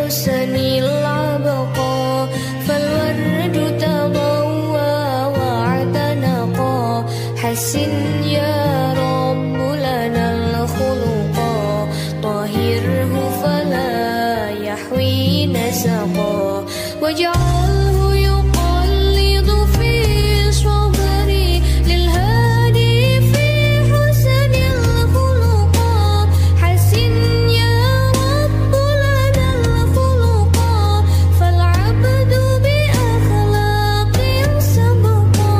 الحسن العبقى فالورد تضوى واعتنقا حسن يا رب لنا الخلقا طهره فلا يحوي نسقا واجعله يقلد في صبري للهادي في حسن الخلقا حسن يا رب لنا الخلقا فالعبد بأخلاق سبقا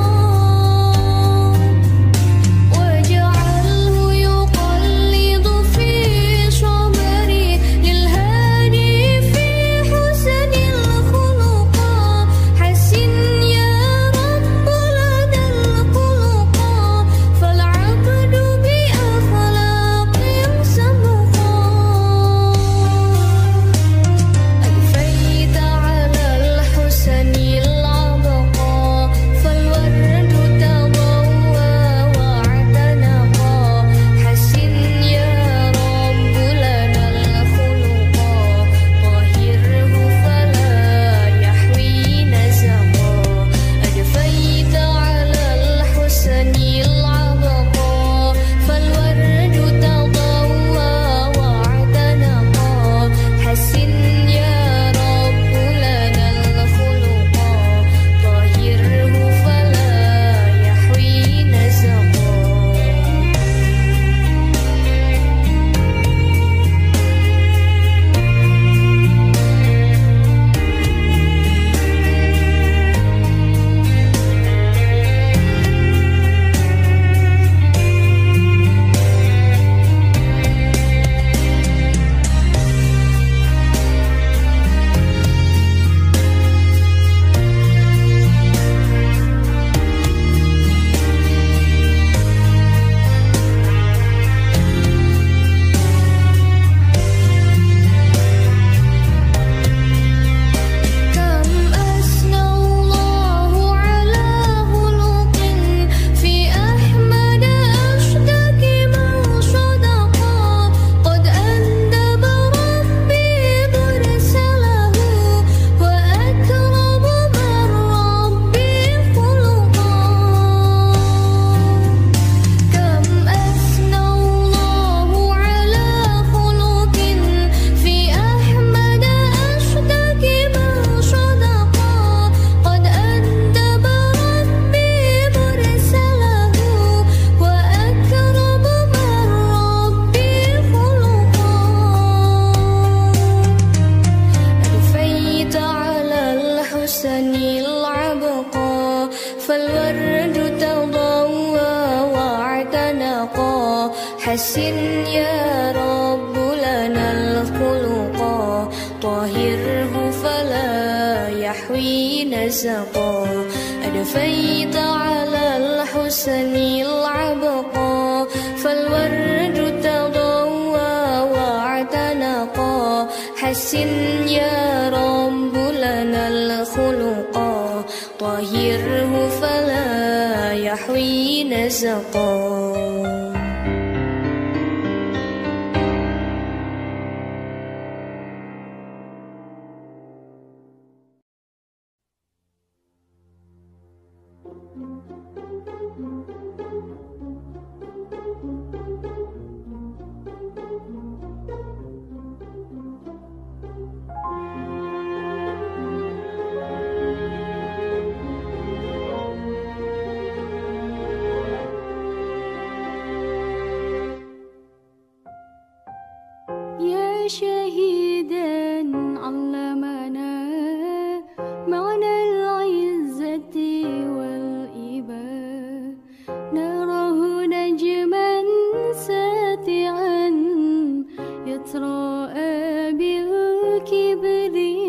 واجعله يقلد في صبري للهادي في حسن الخلقا حسن يا رب لنا الخلقا فالعبد بأخلاق سبقا ألفيت على الحسن العبقى فالورد تضوى واعتنقا حسن يا رب لنا الخلقا طهره فلا يحوي نسقا ألفيت على الحسن العبقى فالورد تضوى واعتنقا حسن يا رب لنا الخلقا طهره فلا يحوي نسقا كم أثنى الله على خلق في أحمد أشتكي من صدقا قد أندب ربي برسله وأكرم من ربي خلقا كم أثنى الله على خلق في أحمد أشتكي من صدقا قد أندب ربي برسله وأكرم من ربي خلقا ألفيت على الحسن العبقى فالورد تضوى واعتنقا حسن يا رب لنا الخلقا طهره فلا يحوي نسقا ألفيت على الحسن العبقى فالورد تضوى واعتنقا حسن يا رب لنا الخلقا طهره فلا يحوي نسقا يا شهيدا علمنا معنى العزة والإباء نراه نجما ساتعا يتراءى بالكبرياء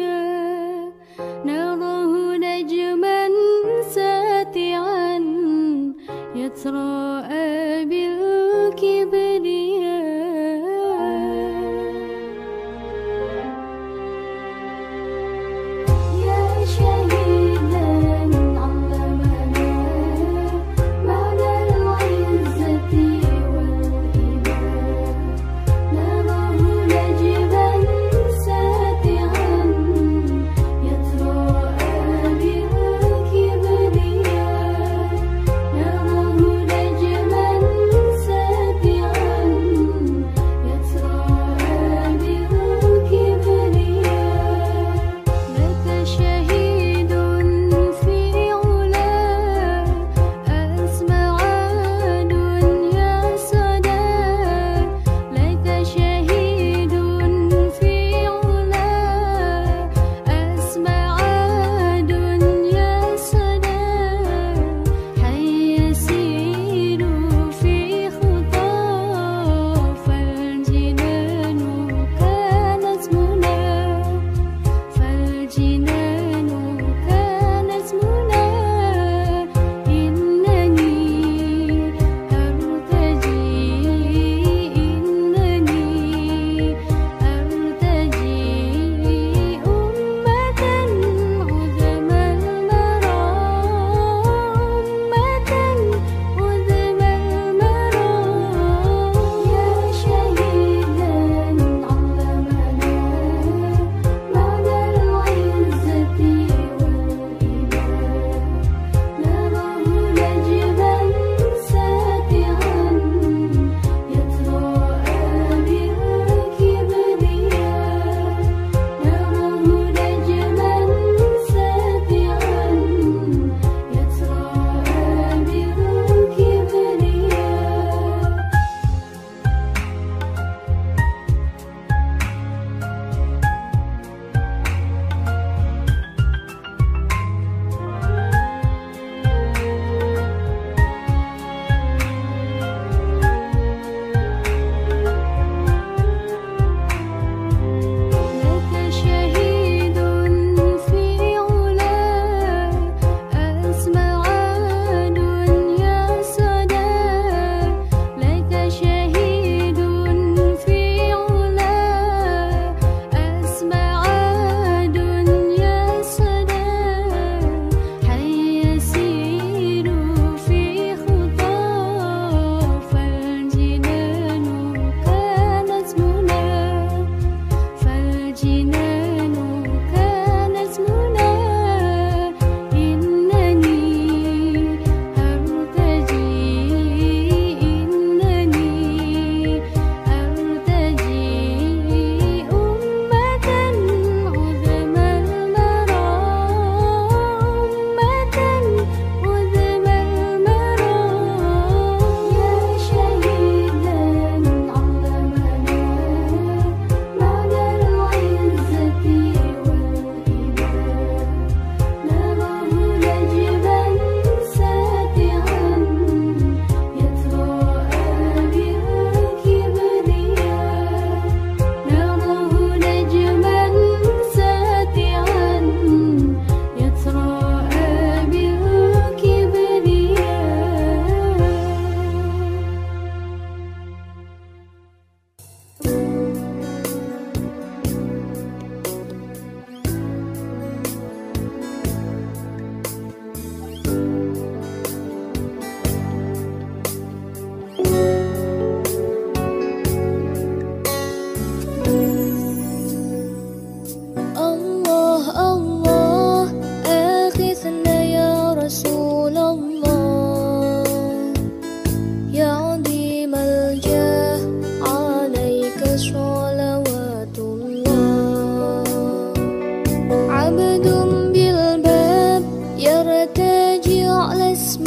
الله آخذنا يا رسول الله يا عظيم الجاه عليك صلوات الله عبد بالباب يرتجي على اسم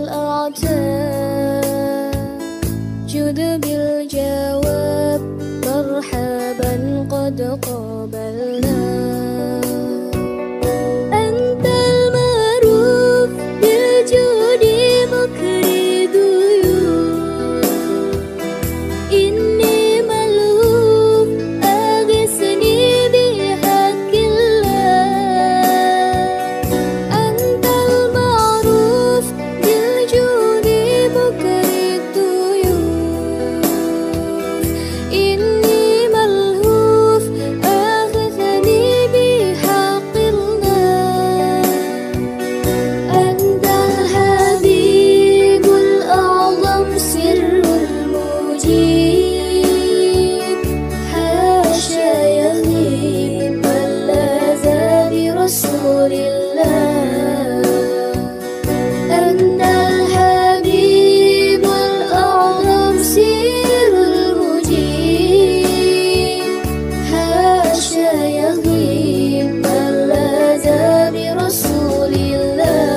الأعتاب جد بالجواب مرحبا قد قابلنا أنت المعروف بالجود مكر ضيوف إني ملهوف أغثني بحق الله أنت المعروف بالجود مكر الضيوف إني ملهوف أغثني بحق الله أنت الحبيب الأعظم سر المجيب حاشا يغيب من لاذ برسول الله أنت الحبيب الأعظم سر المجيب حاشا يغيب من لاذ برسول الله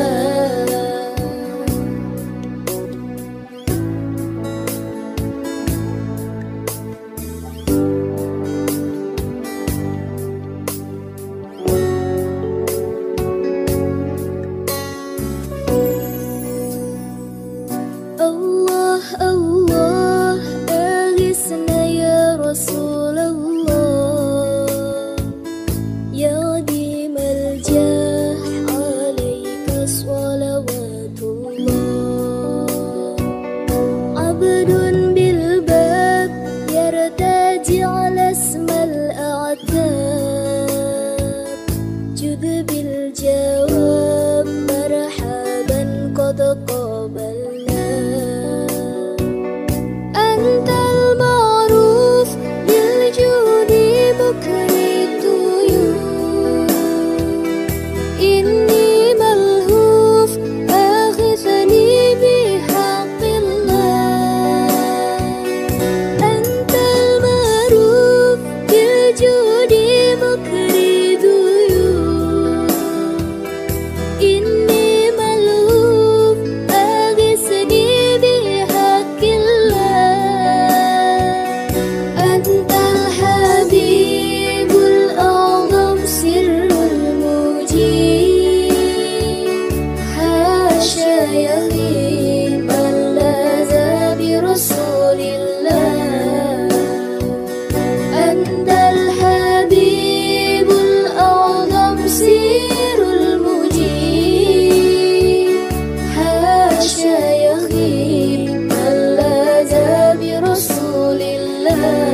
الله الله أغثنا يا رسول الله يا عظيم الجاه عليك صلوات الله عبد بالباب يرتجي على اسم الأعتاب جد بالجواب مرحبا قد قابلنا أنت المعروف بالجود مكر الضيوف إني ملهوف آخذني بحق الله أنت المعروف بالجود مكر الضيوف إني ملهوف آخذني بحق الله أنت الحبيب الأعظم سر المجيب حاشا يغيب من لاذ برسول الله أنت الحبيب الأعظم سر المجيب حاشا يغيب من لاذ برسول الله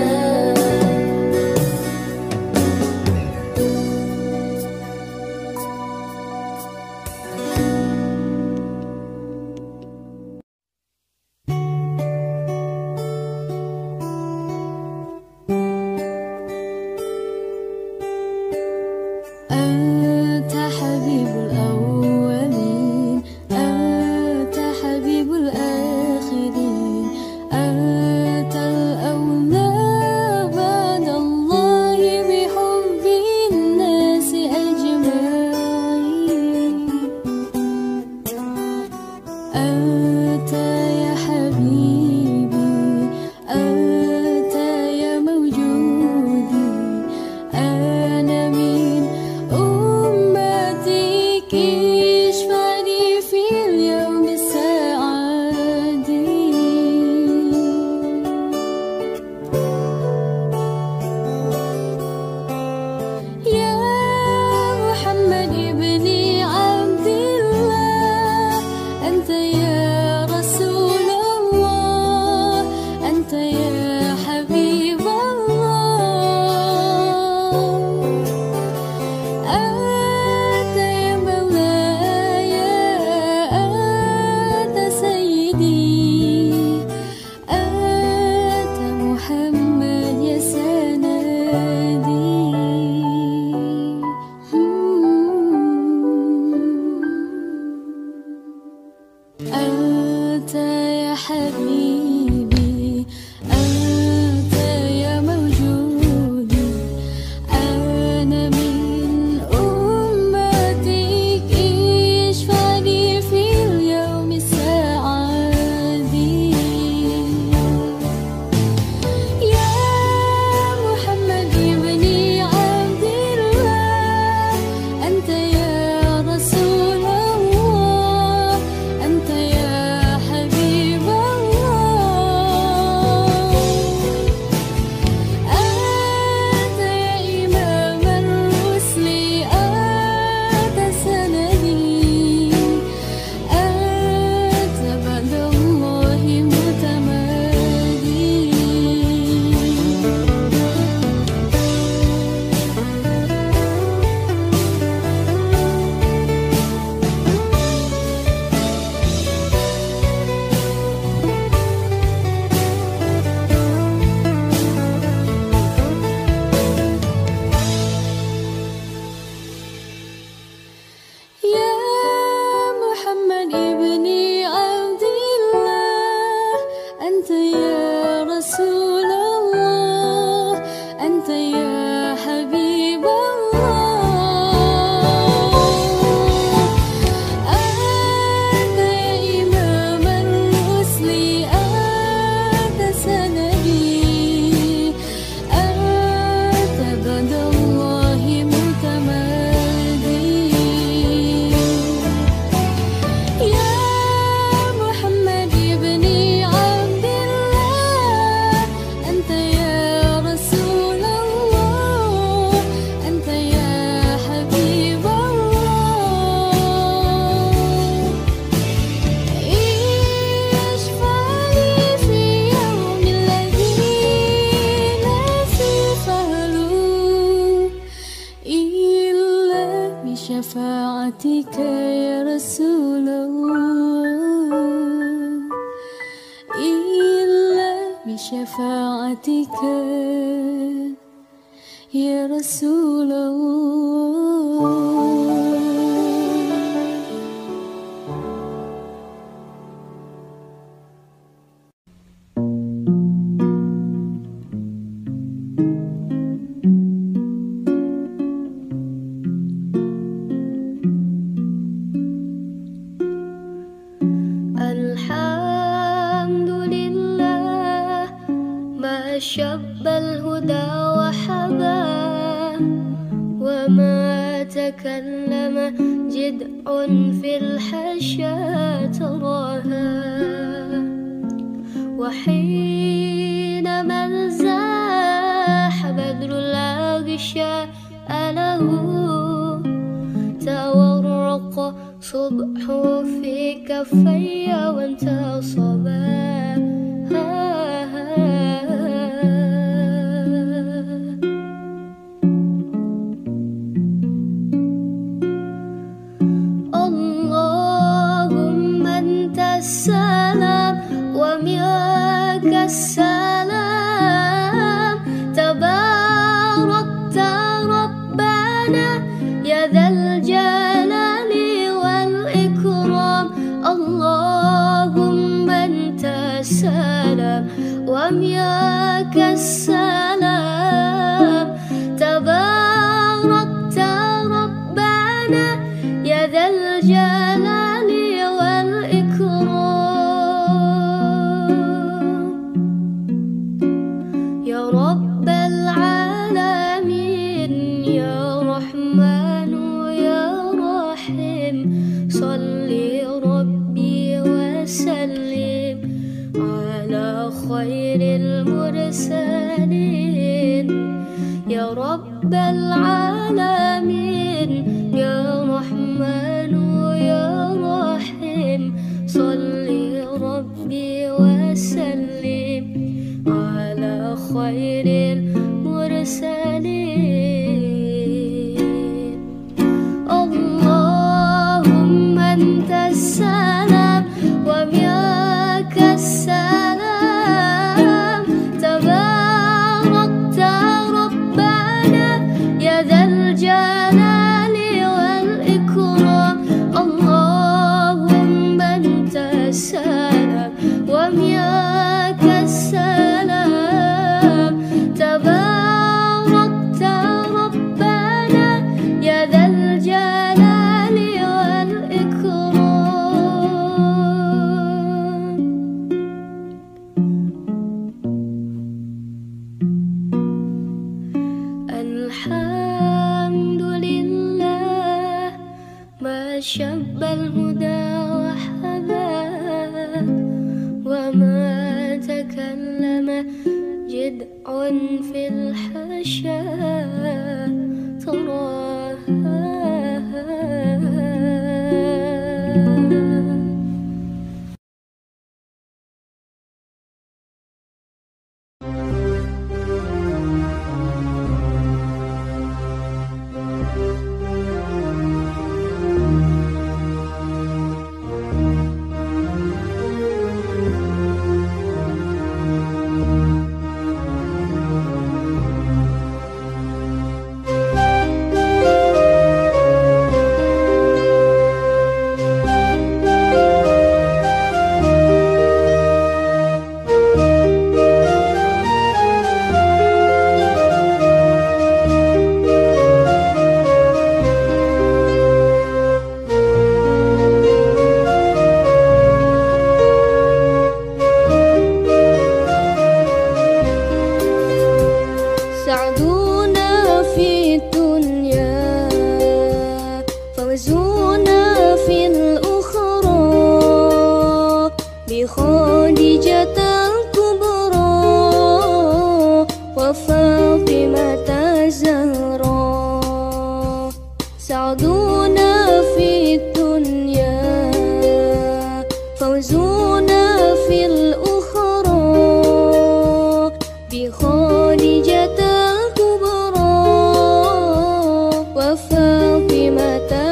أنت حبيب الأولين أنت حبيب الآخرين أنت الأولى بعد الله بحب الناس أجمعين أنت يا حبيبي أنت يا موجودي أنا من بشفاعتك يا رسول الله، إلا بشفاعتك يا رسول الله. شب الهدى وحباه وما تكلم جدع في الحشا تراها، وحينما انزاح بدر الأغشاء له تورق صبح في كفي وانتصبا. السلام ومنك السلام، تباركت ربنا يا ذا الجلال والإكرام. اللهم أنت السلام ومنك السلام، تباركت ربنا يا ذا الجلال خير المرسلين. يا رب العالمين يا رحمن يا رحيم، صل ربي وسلم على خير المرسلين. اللهم أنت السلام ومنك السلام، الجلال والإكرام. اللهم أنت السلام ومنك السلام، تباركت ربنا يا ذا الجلال والإكرام. الحمد لله ما شب الهدى وحباه وما تكلم جدع في الحشا تراها. بخادجة الكبرى وفاطمة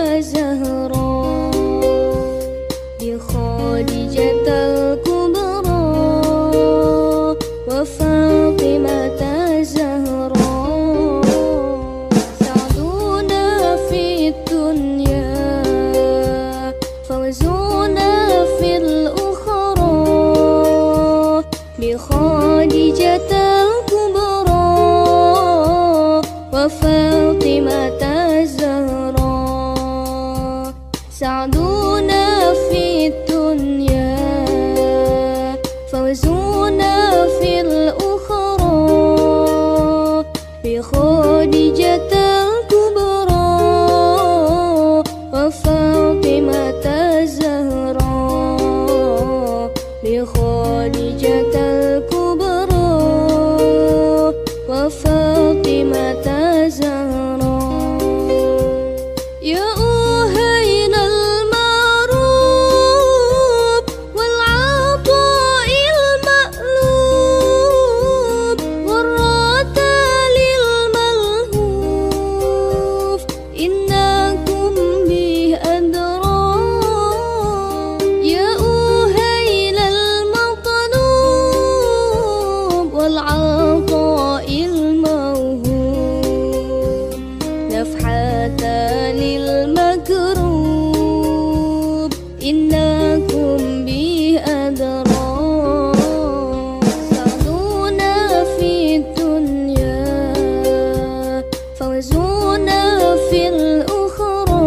وطن المكروب إنكم به أدرى سعدونا في الدنيا فوزونا في الأخرى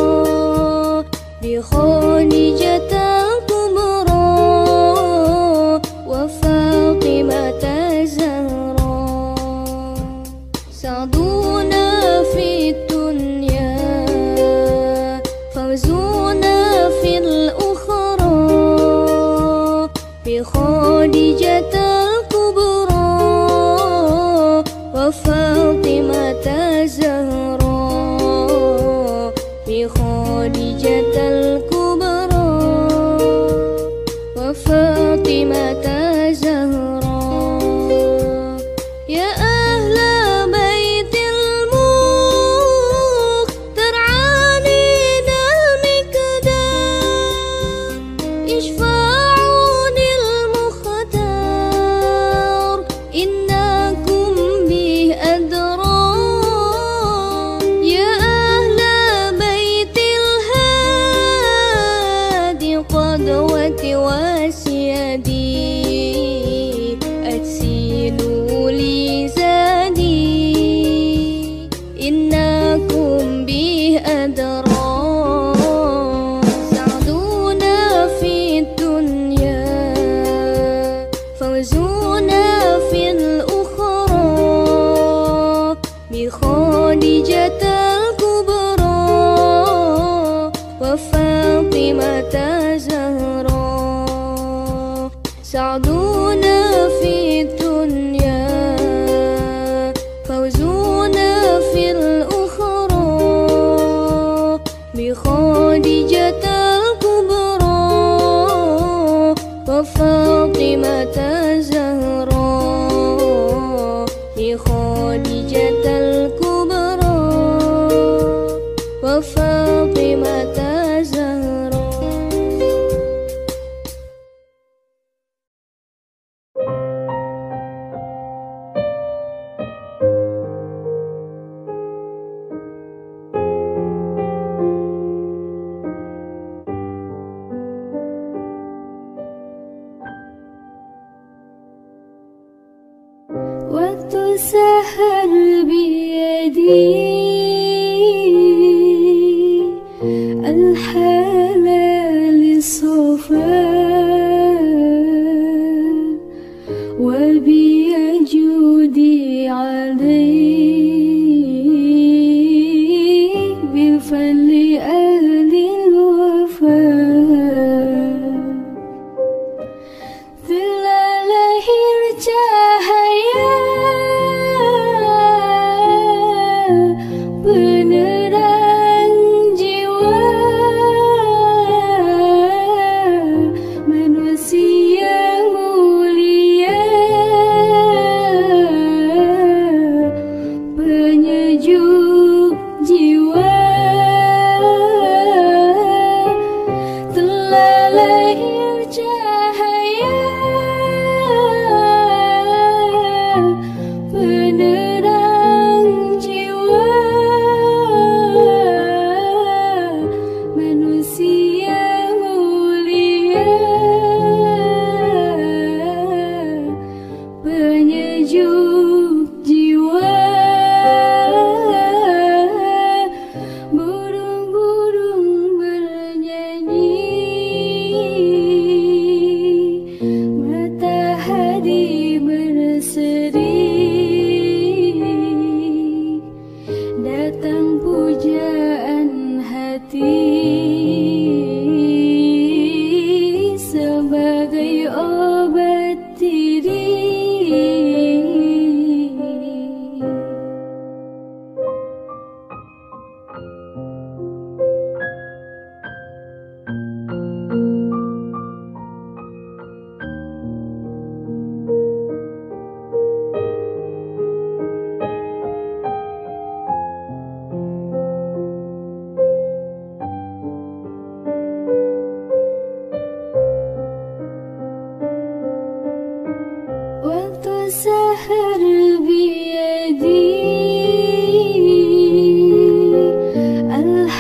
بخديجة الكبرى وفاطمة الزهراء سعدونا في الدنيا فوزونا في الأخرى بخديجة الكبرى وفاطمة الزهراء بخديجة الكبرى وفاطمة الزهراء يا أهل بيت المختار علينا المقدار اشفعوا للمختار إنكم به أدرى يا أهل بيت الهادي قدوة وسيدي أتسيلوا لي زادي إنكم به أدرى سعدونا في الدنيا فوزونا في الأخرى بخديجة الكبرى وفاطمة الزهراء سعدونا في الدنيا فوزونا في الأخرى بخديجة الكبرى وفاطمة الزهراء بخديجة الكبرى وفاطمة الزهراء وتسهل بيدي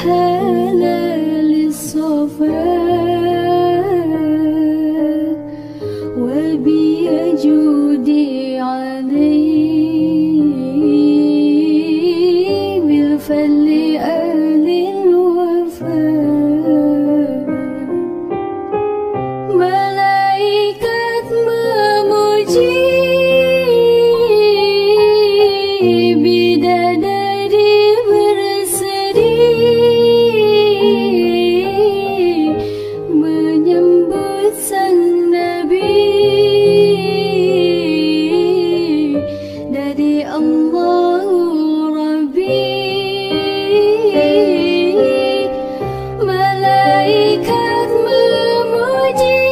الحلال الصفاء وبيجودي علي بالفضل أهل الوفاء ملائكة memuji bidadari berseri menyambut sang Nabi dari Allah Rabbi. Malaikat memuji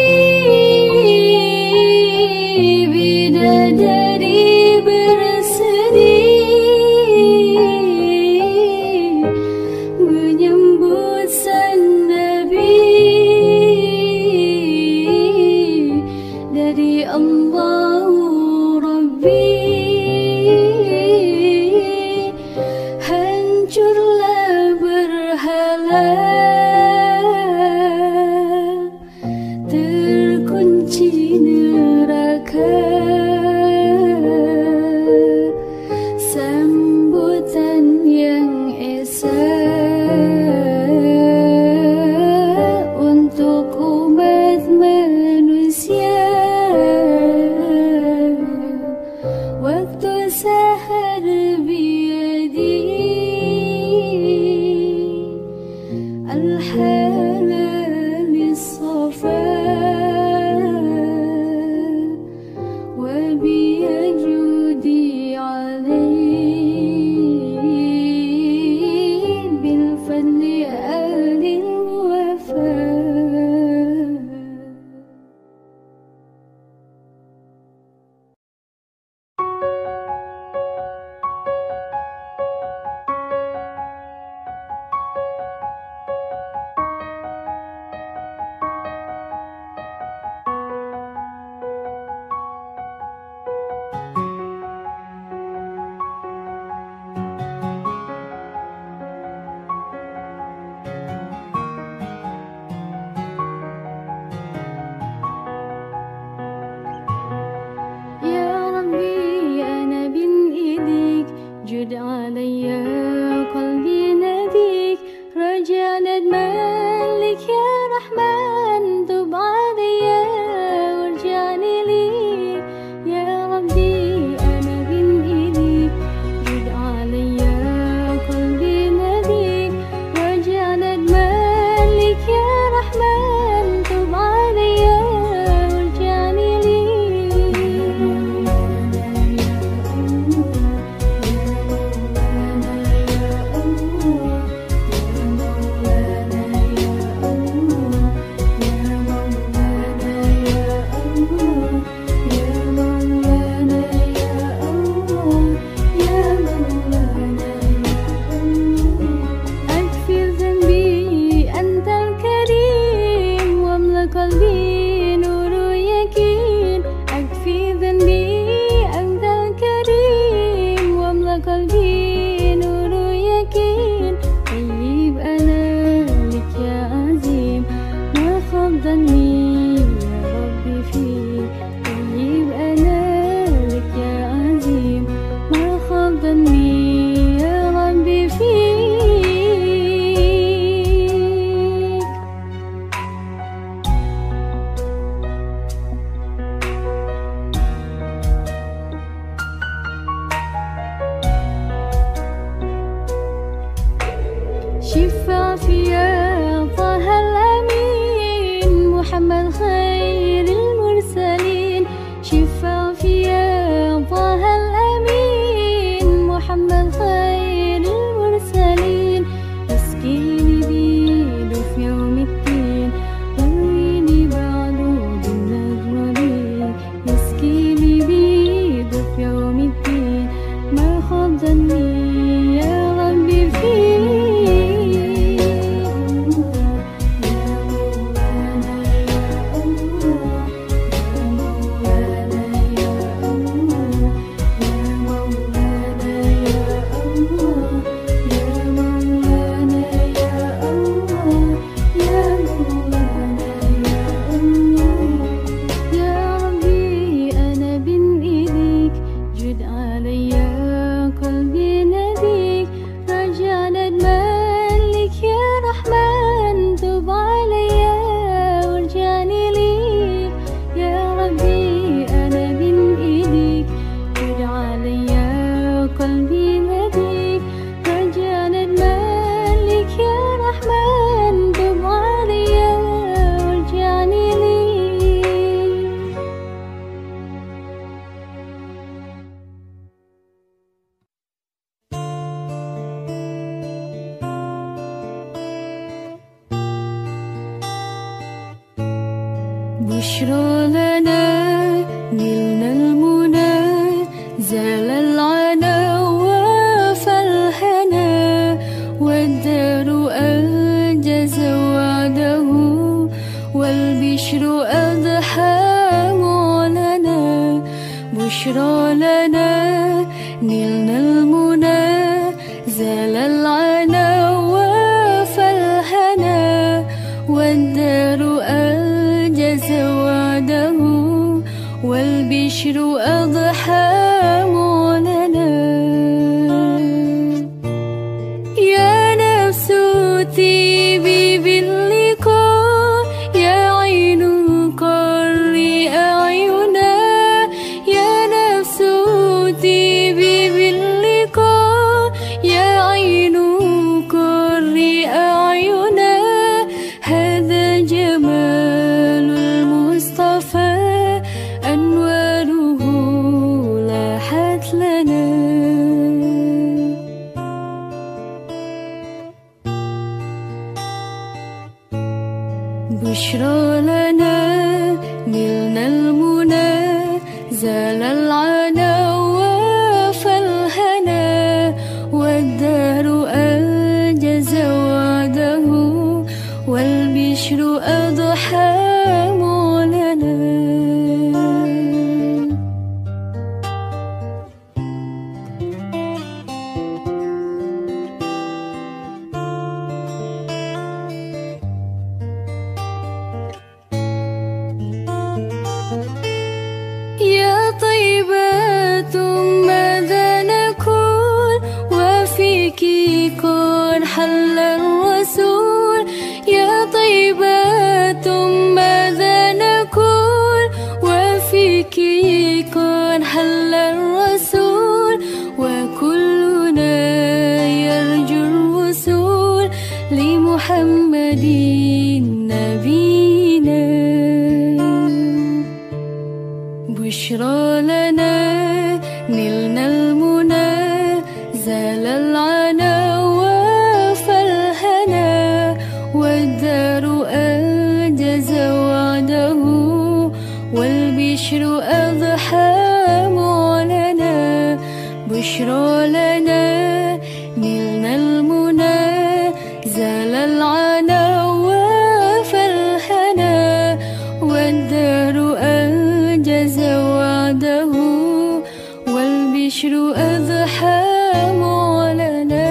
bidadari berseri menyambut sang Nabi dari Allah Rabbi. Hancurlah berhala, terkunci neraka, sambutan yang esa untuk umat manusia. Waktu sahar biyadi الحلال الصفاء وبيجودي علي بالفضل أهل الوفاء. يا ربي أنا بين إيديك جد عليا قلبي ناديك رجاء ندمانك يا رحمن تب عليا وارجعني ليك. يا ربي أنا بين إيديك جد عليا قلبي ناديك رجاء ندمانك يا رحمن تب عليا وارجعني ليك. أكفر ذنبي أنت الكريم واملأ قلبي نور يقين. أكفر ذنبي أنت الكريم واملأ قلبي نور يقين. طيب أنا لك يا عظيم ما خاب ظني يا ربي فيك. طيب أنا لك يا عظيم ما خاب ظني يا ربي فيك. شفع فيا طه الأمين محمد خير المرسلين. شفع فيا طه الأمين محمد خير المرسلين. اسقيني بيده في يوم الدين رويني بعده بالنجمين. اسقيني بيده في يوم الدين ما خاب ظني يا ربي فيك. يا مولانا يا بشرى لنا نلنا المنى زال العنا وفالهنا والدار أنجز وعده والبشر أضحى معلنا بشرى لنا نلنا المنى زال العنا وفالهنا والدار أنجز وعده والبشر أضحى معلنا يا نفس طيبي باللقاء يا عين قري أعينا يا نفس طيبي باللقاء يا عين قري أعينا هذا جمال المصطفى أنواره لاحت لنا بشرى لنا نلنا المنى زال العنا وفالهنا والدار أنجز وعده والبشر أضحى معلنا يا طيبة ماذا نقول وفيك قد حل الرسول يا طيبة ماذا نقول وفيك قد حل الرسول وكلنا يرجو الوصول لمحمد نبينا بشرى لنا نلنا المنى زال العنا وفالهنا والدار أنجز وعده والبشر أضحى معلنا بشرى لنا نلنا المنى زال العنا وفالهنا والدار أنجز وعده والبشر أضحى معلنا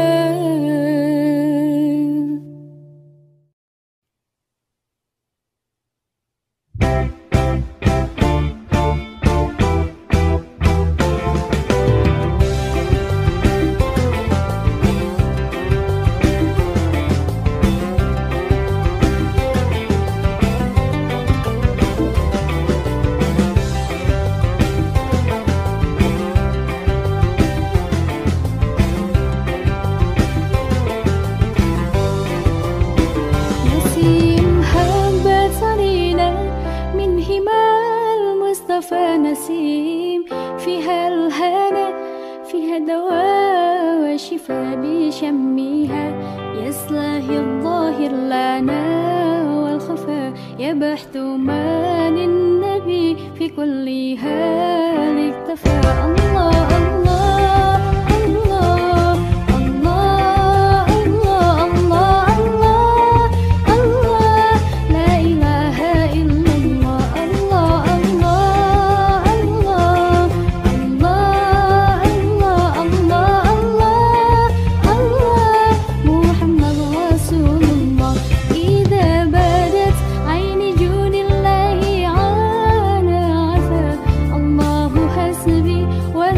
نسيم فيها الهنا فيها دواء وشفاء بشمها يسلهي الظاهر لنا والخفاء يبحث من النبي في كل حال اكتفى الله الله الله الله الله الله الله الله لا إله إلا الله الله الله الله الله الله الله الله محمد رسول الله إذا بدت عين جود الله عانى عفا الله حسبي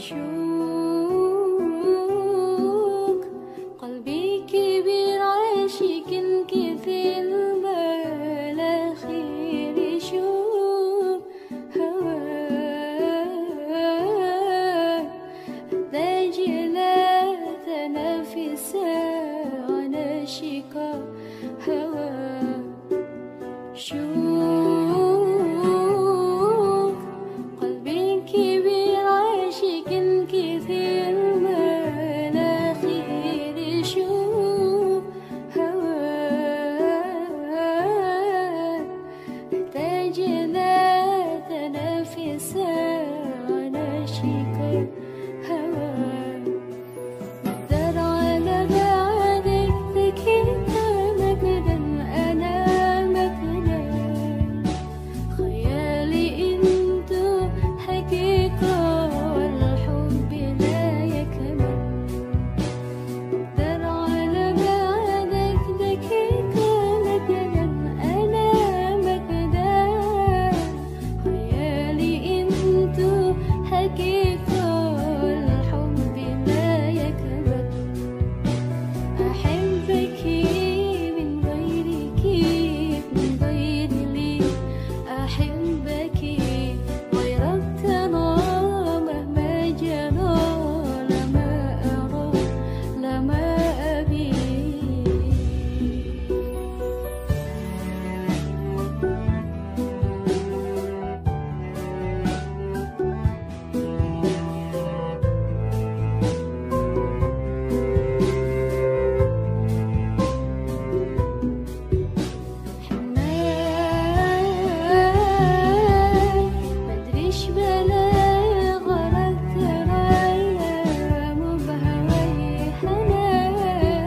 شوق قلبي كبير عاشق كثير ما لا خير يشوف هواك أحتاج إلى تنافس على شقاء هواك شوف قلبي كبير عاشق كثير ما لا خير يشوف هواك أحتاج إلى تنافس على شقاء هواك نقدر على بعدك تكيت مجدا أنا مجدا خيالي انتو حقيقة والحب لا يكمل نقدر على بعدك تكيت مجدا أنا مجدا خيالي انتو حقيقة والحب لا يكمل أحبك من غيرك من غير لي أحبك غيرك أنا مهما جرى لما أرى لما أبي مدريش بلا غرق ترايا مو بهواي حنان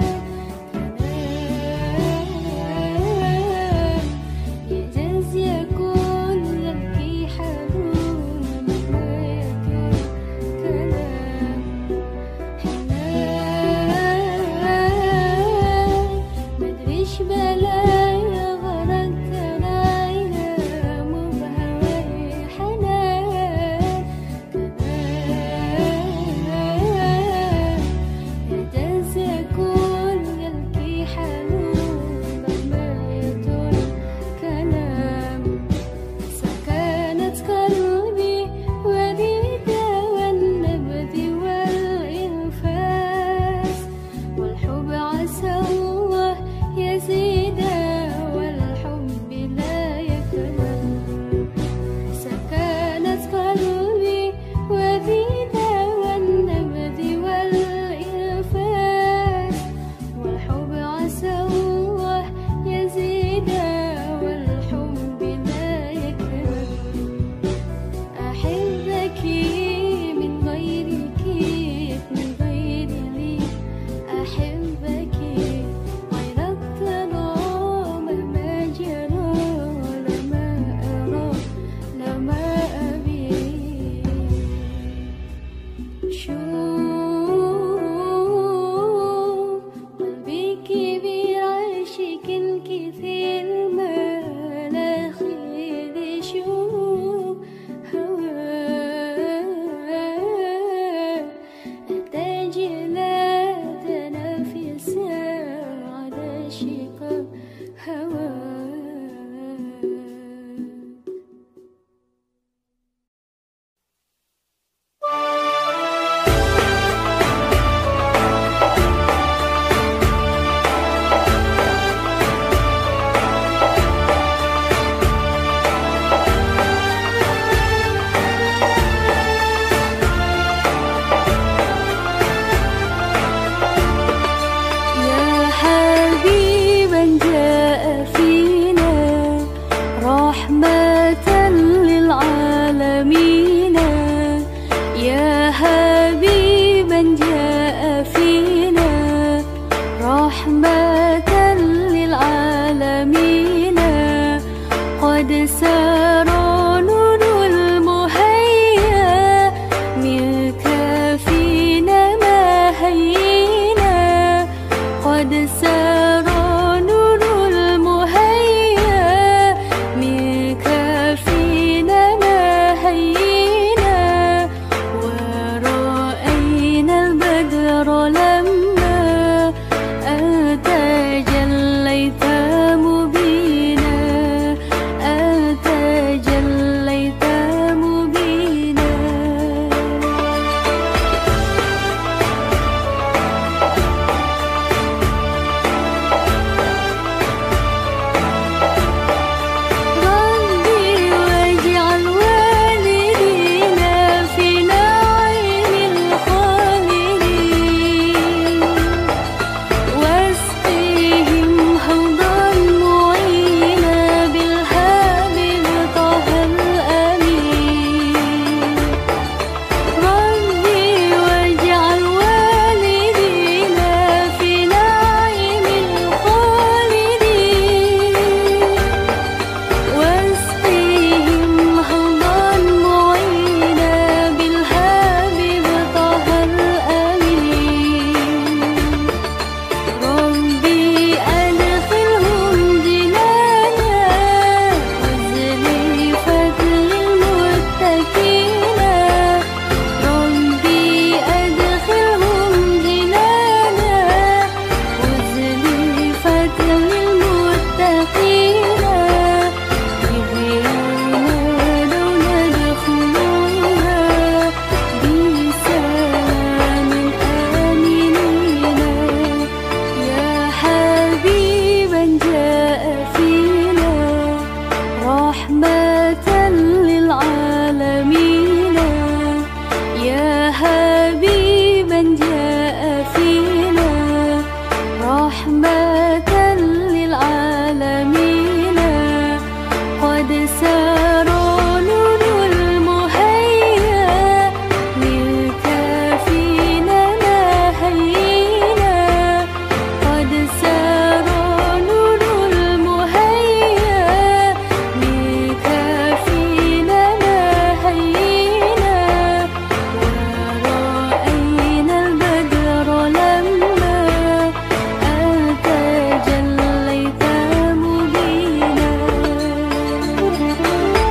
يجوز يكون يبكي حنون مهما يكون كلام حنان مدريش بلا غرق ترايا مو بهواي حنان كمان يجوز يكون يبكي حنون مهما يطول كلام سكنت قلبي وليدا والنبذ والإنفاس والحب عسى الله يزيد والحب لا يكمل سكنت قلبي وليدا والنبذ والإنفاس والحب عسى الله يزيد والحب لا يكمل أحبك من غيرك من غير لي أحبك غيرك أنا مهما جرى لما أرى لما أبي شوف قلبي كبير عاشق كثير ما لا خير يشوف هواك أحتاج إلى تنافس على شقاء هواك يا حبيبا جاء فينا رحمة للعالمين يا حبيبا جاء فينا رحمة للعالمين قد سار نور المهيا منك فينا ما هينا قد سار نور المهيا منك فينا ما هينا ورا رحمة للعالمين يا حبيبا جاء فينا رحمة للعالمين قد سار نور المهيا للكافين ما هينا قد سار نور المهيا للكافين ما هينا ورأينا البدر لما أنت جليت مبينا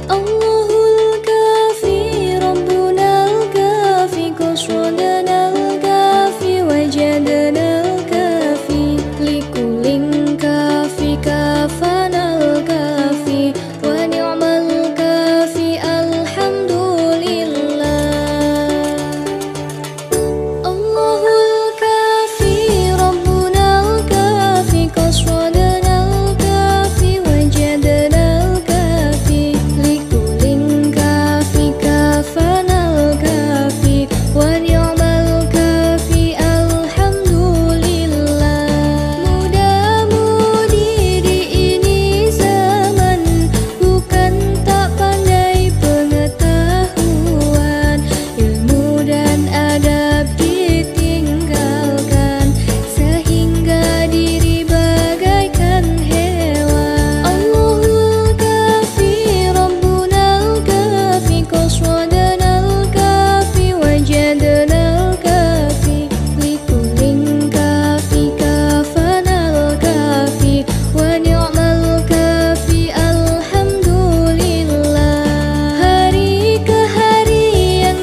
Allahul kafi Rabbuna al-kafi qaswadana al-kafi wajadana al-kafi likulin kafi kafana al-kafi wa ni'mal kafi alhamdulillah. Allahul kafi Rabbuna al-kafi qaswadana al-kafi wajadana al-kafi likulin kafi kafana al-kafi wa ni'mal kafi alhamdulillah. Muda-mudi di ini zaman bukan tak pandai pengetahuan, ilmu dan adab ditinggalkan sehingga diri bagaikan hewan. Allahul kafi Rabbuna al-kafi qaswadana al-kafi wajadana al-kafi likulin kafi kafana al-kafi wa ni'mal kafi alhamdulillah. Hari ke hari yang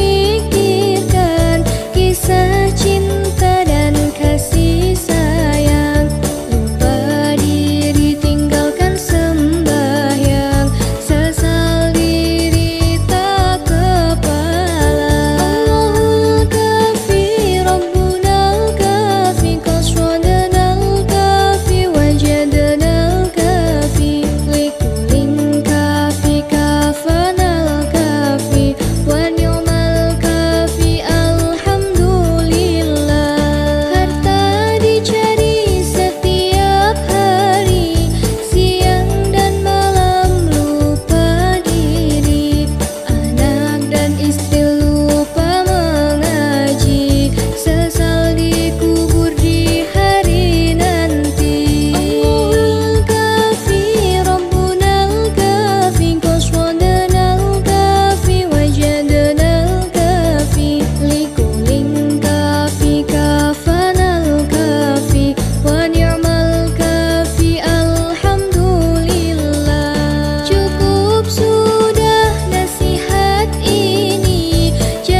dipikirkan kisah cinta dan kasih sayang, lupa diri tinggalkan sembahyang, sesal diri tak kepala. Allahul kafi Rabbuna al-kafi qaswadana al-kafi wajadana al-kafi likulin kafi kafana al-kafi wa ni'mal kafi alhamdulillah. Harta dicari setiap hari, siang dan malam lupa diri, anak dan istri lupa mengaji, sesal dikubur di hari nanti. Allahul kafi Rabbuna al-kafi qaswadana al-kafi wajadana al-kafi likulin kafi kafana al-kafi wa ni'mal kafi alhamdulillah. Cukup sudah nasihat ini,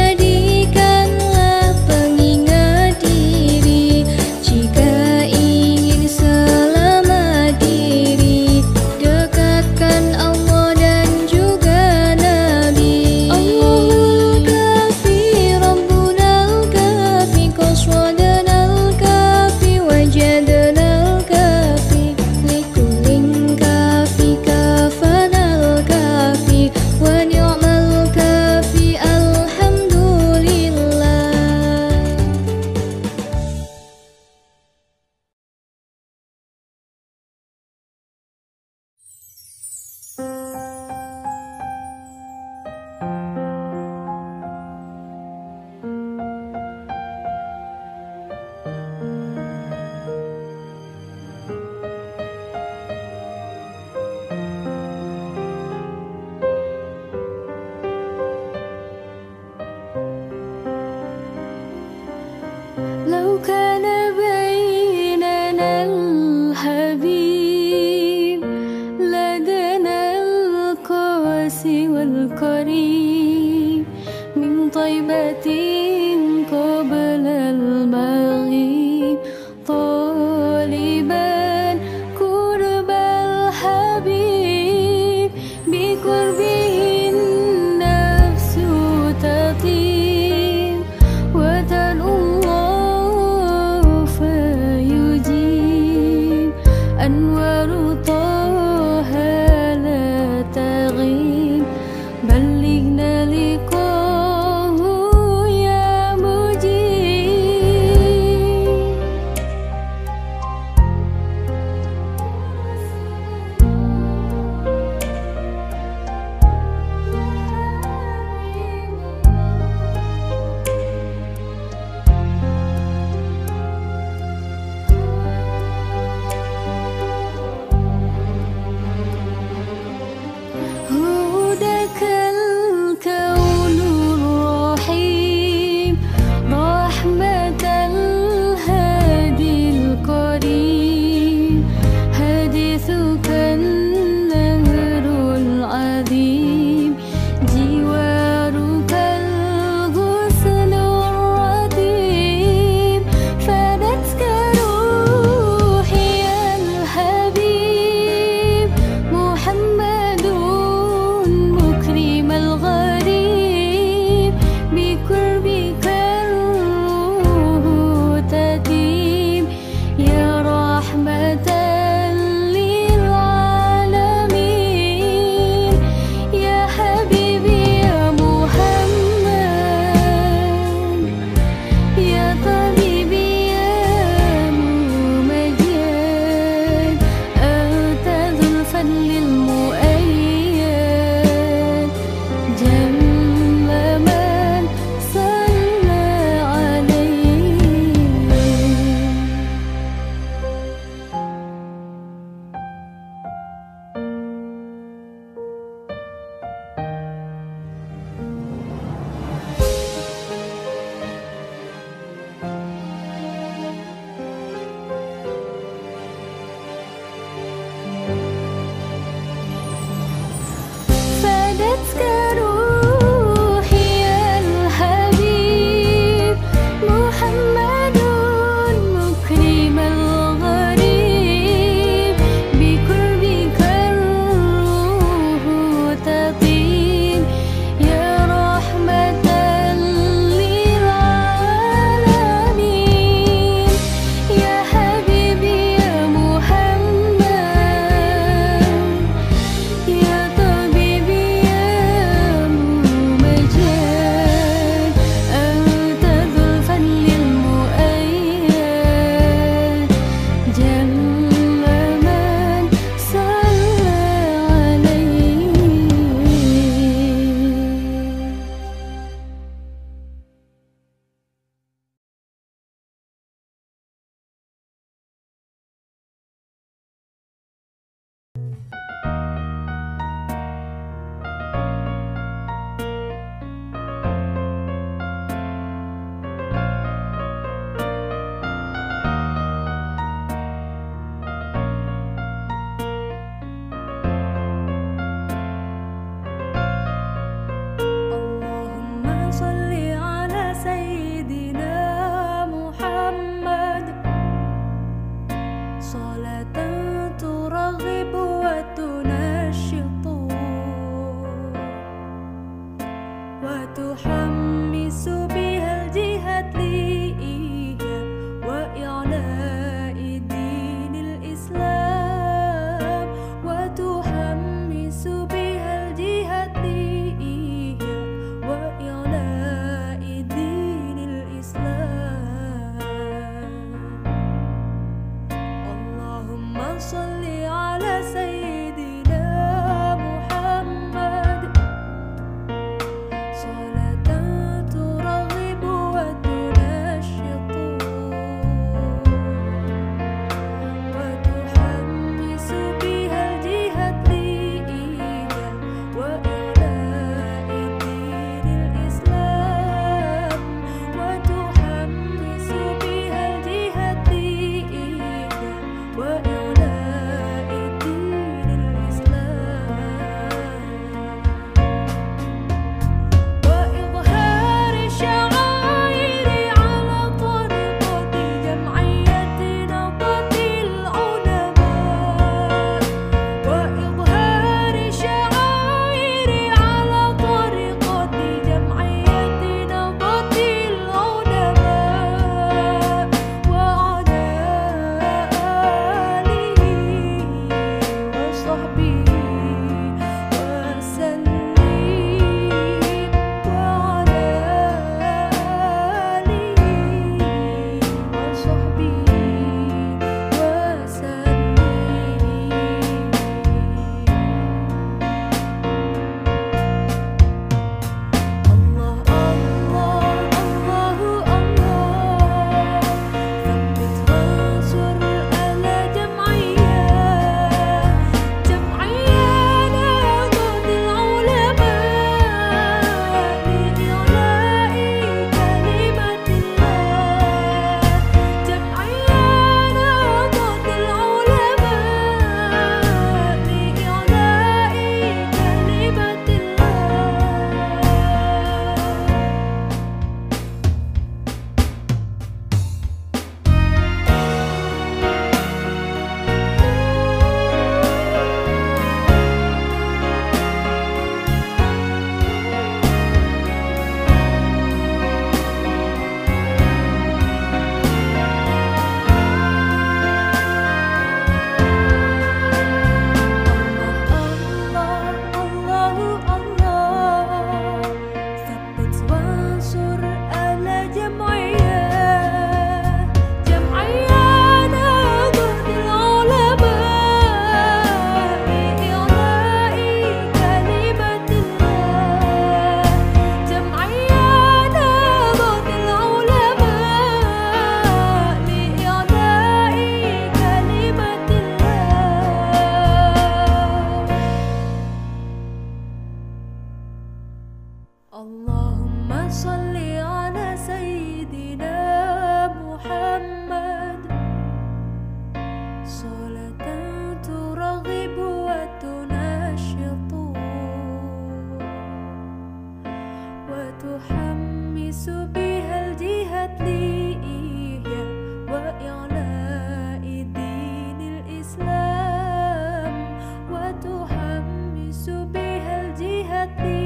jadikanlah pengingat diri. Jika ingin selamat diri, dekatkan Allah dan juga Nabi. Allahul kafi Rabbuna al-kafi qaswadana al-kafi wajadana al-kafi likulin kafi kafana al-kafi wa ni'mal kafi alhamdulillah. لو كان بيننا الحبيب لدنا القاسي والقريب من طيبة قبل المغيب طالبا قرب الحبيب بقربه النفس تطيب وتنؤم Allahumma salli ala Sayyidina Muhammad salatan turaghibu wa tunashitu wa tuhammisu bihal jihad li ihya wa i'la'i dinil Islam wa tuhammisu bihal jihad li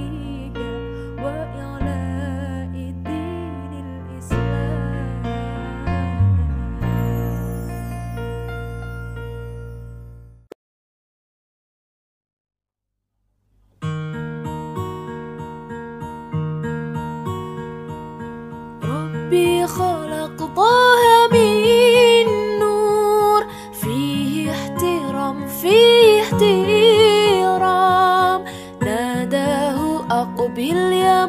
ربي خلق طه من نور فيه احترام فيه احترام ناداه أقبل يا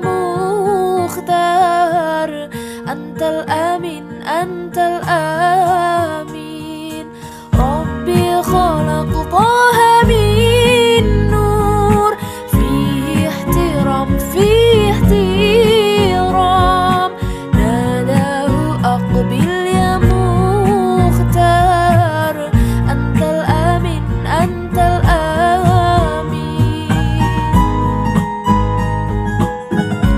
مختار أنت الأمين أنت الأمين ربي خلق طه من نور فيه احترام فيه احترام أقبل يا مختار أنت الأمين أنت الأمين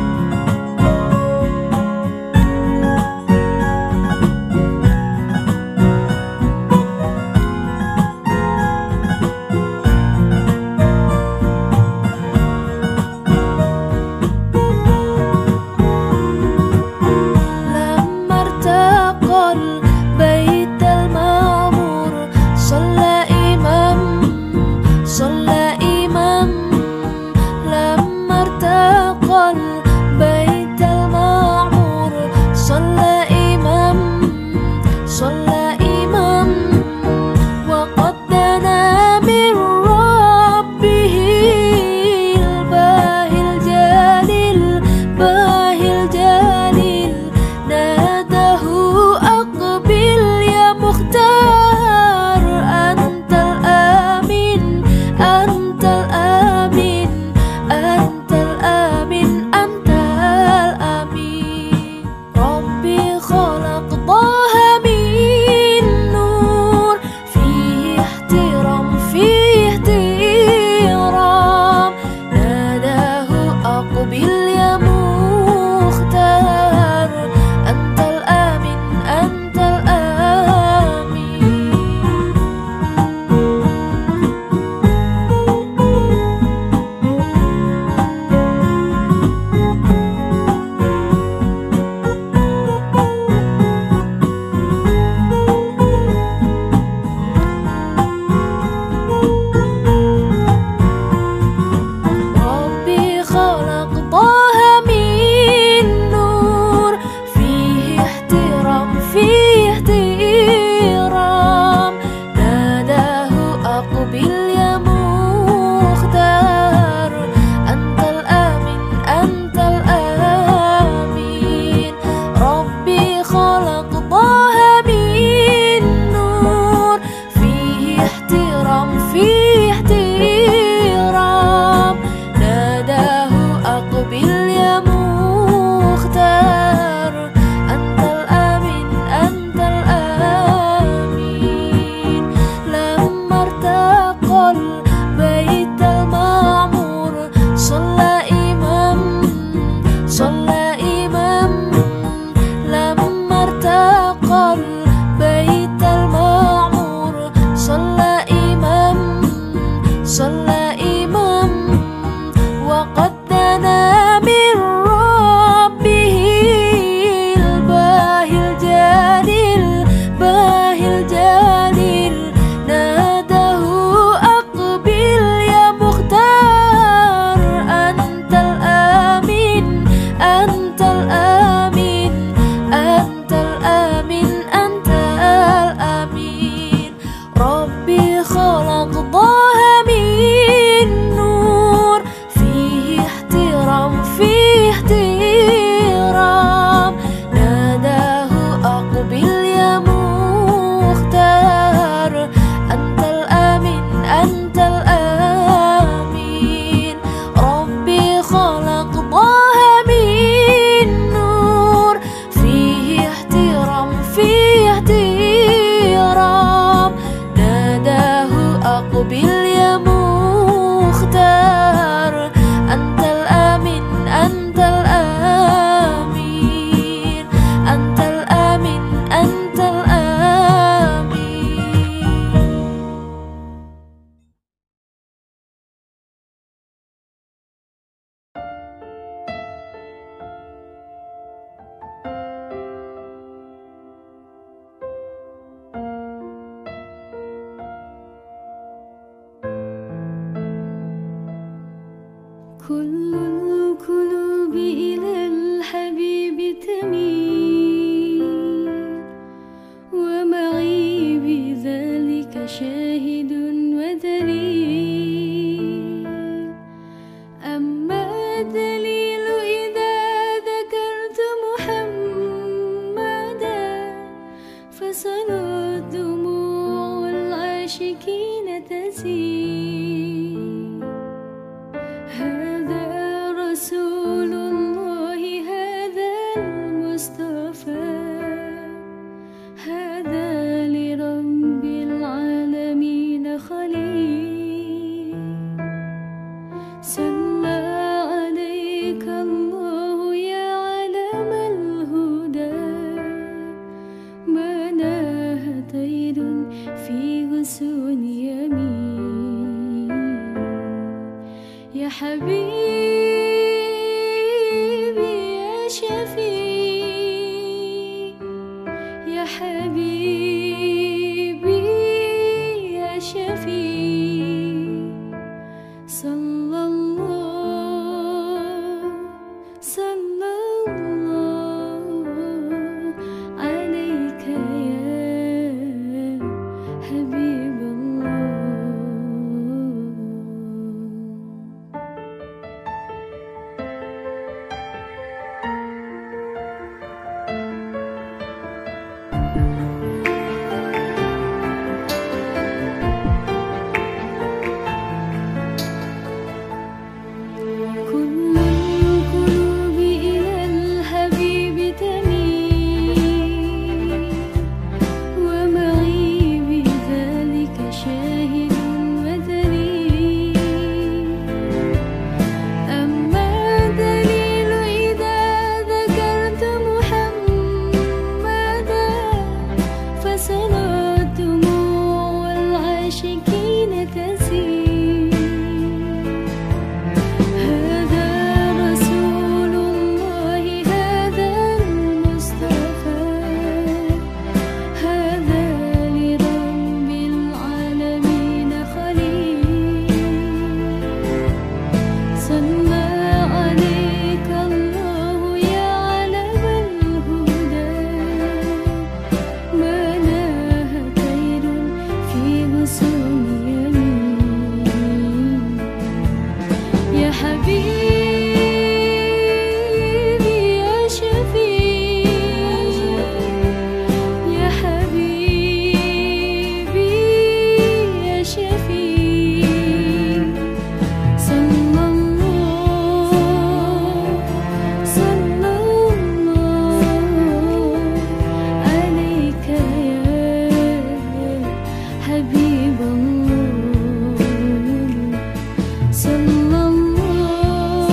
كل القلوب إلى الحبيب تميل، ومعي بذلك شاهد ودليل. أما الدليل إذا ذكرت محمدا، فصارت دموع العاشقين تسيل. هذا رسول الله، هذا المصطفى، هذا لرب العالمين خليل. صلى عليك الله يا علم الهدى، ما ناه طير في غصون يمين. يا حبيبي يا شفيع، يا حبيبي يا شفيع. صلى الله عليك يا حبيب الله. كل القلوب إلى الحبيب تميل، ومعي بذلك شاهد ودليل. أما الدليل إذا ذكرت محمدا، فصارت دموع العاشقين تسيل. هذا رسول الله، هذا المصطفى، هذا لرب العالمين خليل. صلى عليك الله يا علم الهدى، ما ناه طير في غصون يمين. يا حبيبي يا شفيع، يا حبيبي يا شفيع. صلى الله عليك يا حبيب الله. صلى الله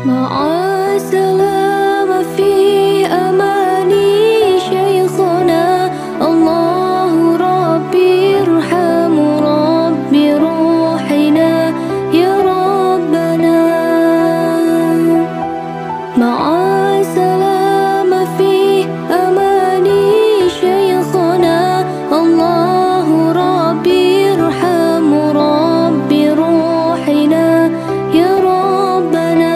مع السلامة في أماني شيخنا الله ربي ارحم ربي روحنا يا ربنا مع السلامة في أماني شيخنا الله ربي ارحم ربي روحنا يا ربنا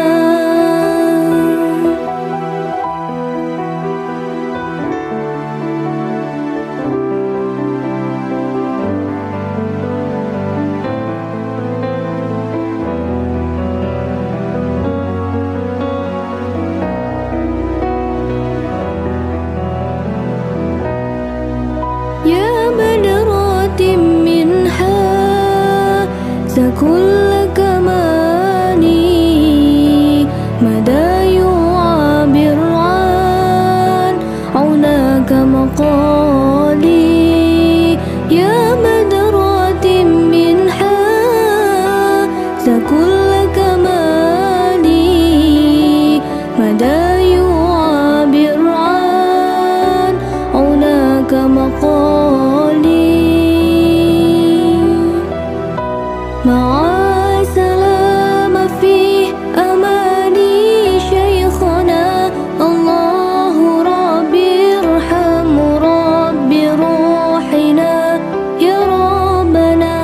يا منرات منها سكل كماني مدى يعبر عن عونك مقالي يا منرات منها سكل كماني مدى يعبر عن عونك مقالي مع السلامة في أماني شيخنا الله ربي ارحم ربي روحنا يا ربنا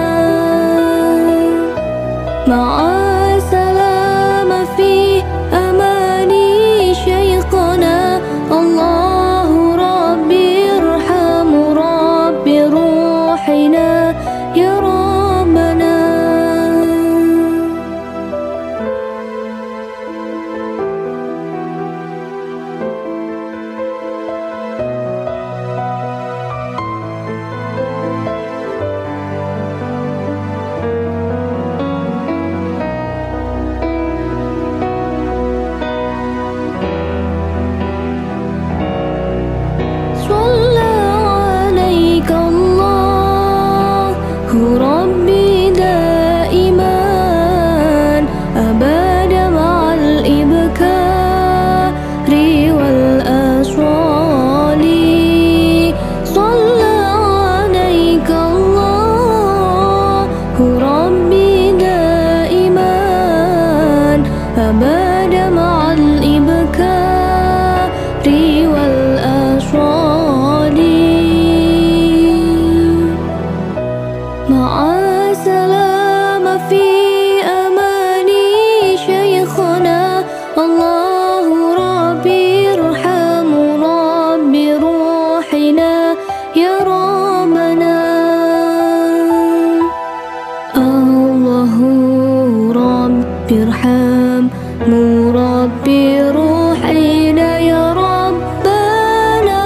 مع السلامة في أماني شيخنا الله ربي ارحم ربي روحنا يا ربنا صلى عليك الله ربي دائما أبدا مع الإبكار والأصوال صلى عليك الله ربي دائما أبدا مع الإبكار والأصوال مع السلامة في أماني شيخنا الله ربي ارحم ربي روحنا يا ربنا الله ربي ارحم ربي روحنا يا ربنا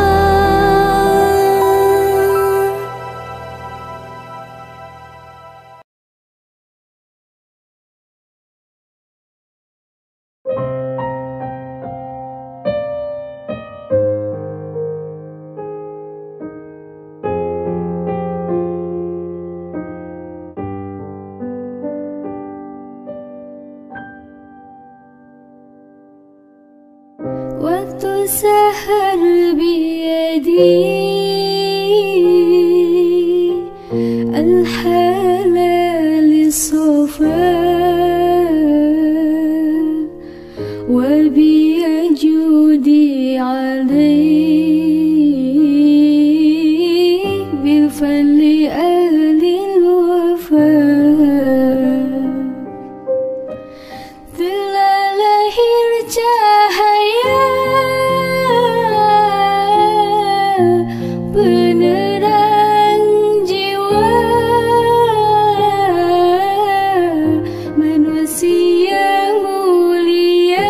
وتسهر بيدي الحلال الصفا وبيجودي علي بالفضل أهل الوفاء telah lahir cahaya penerang jiwa manusia mulia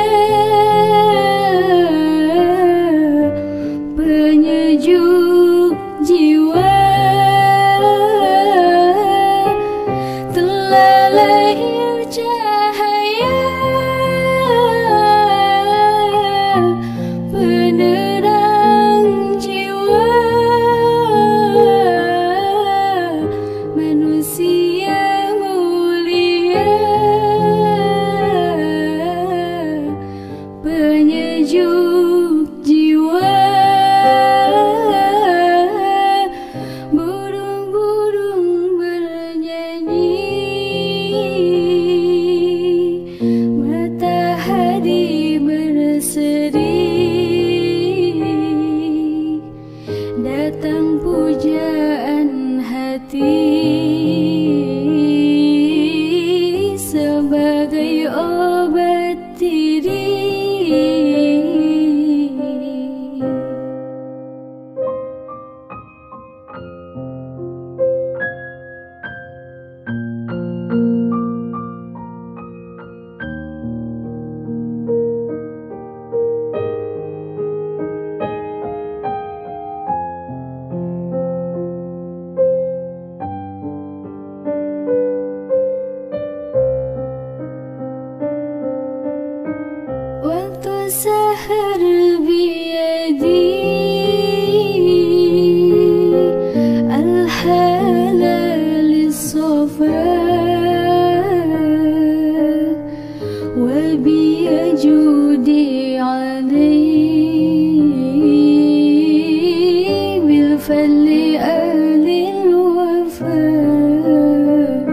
penyejuk jiwa telah lahir cahaya penerang jiwa manusia mulia وبيجودي عليه بالفضل أهل الوفاء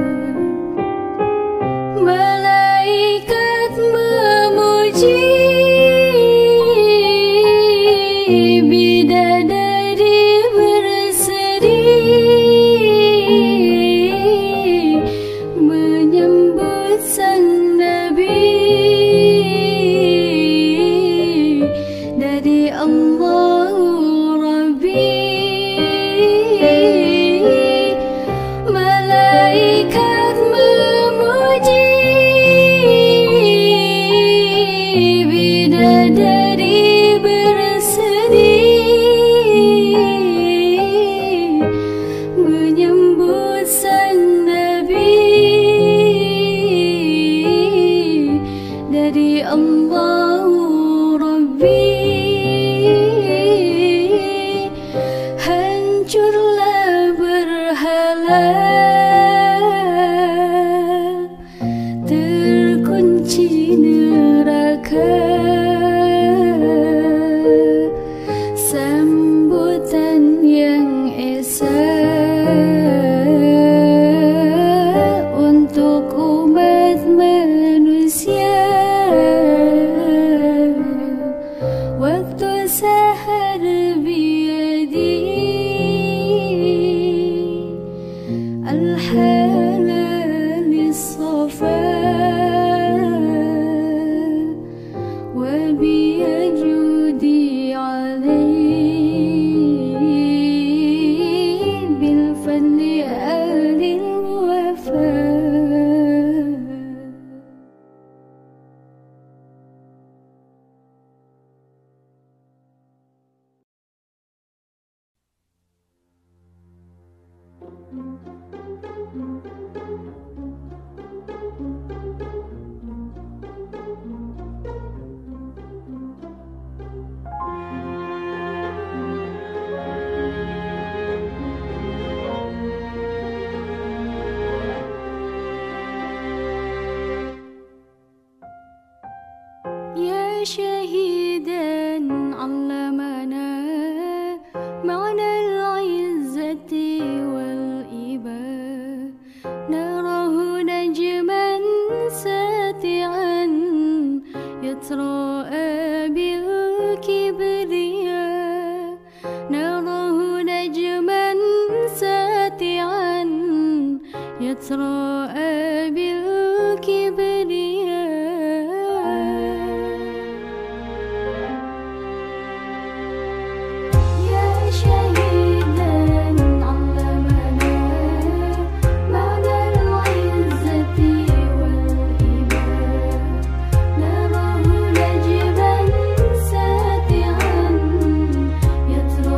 malaikat memuji bidadari berseri menyambut sang Nabi dari Allah Rabbi. Malaikat memuji bidadari berseri menyambut sang Nabi dari Allah Rabbi. Hancurlah berhala, terkunci neraka, sambutan yang esa untuk umat manusia. Waktu sahar biyadi al-halal lis-safa wa biyajudi alayhi bil-fadli ahli al-wafa. يا شهيدا علمنا معنى العزة والإباء نراه نجما ساتعا يتراءى بالكبرياء نراه نجما ساتعا يتراءى بالكبرياء.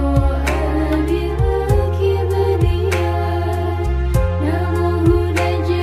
نجما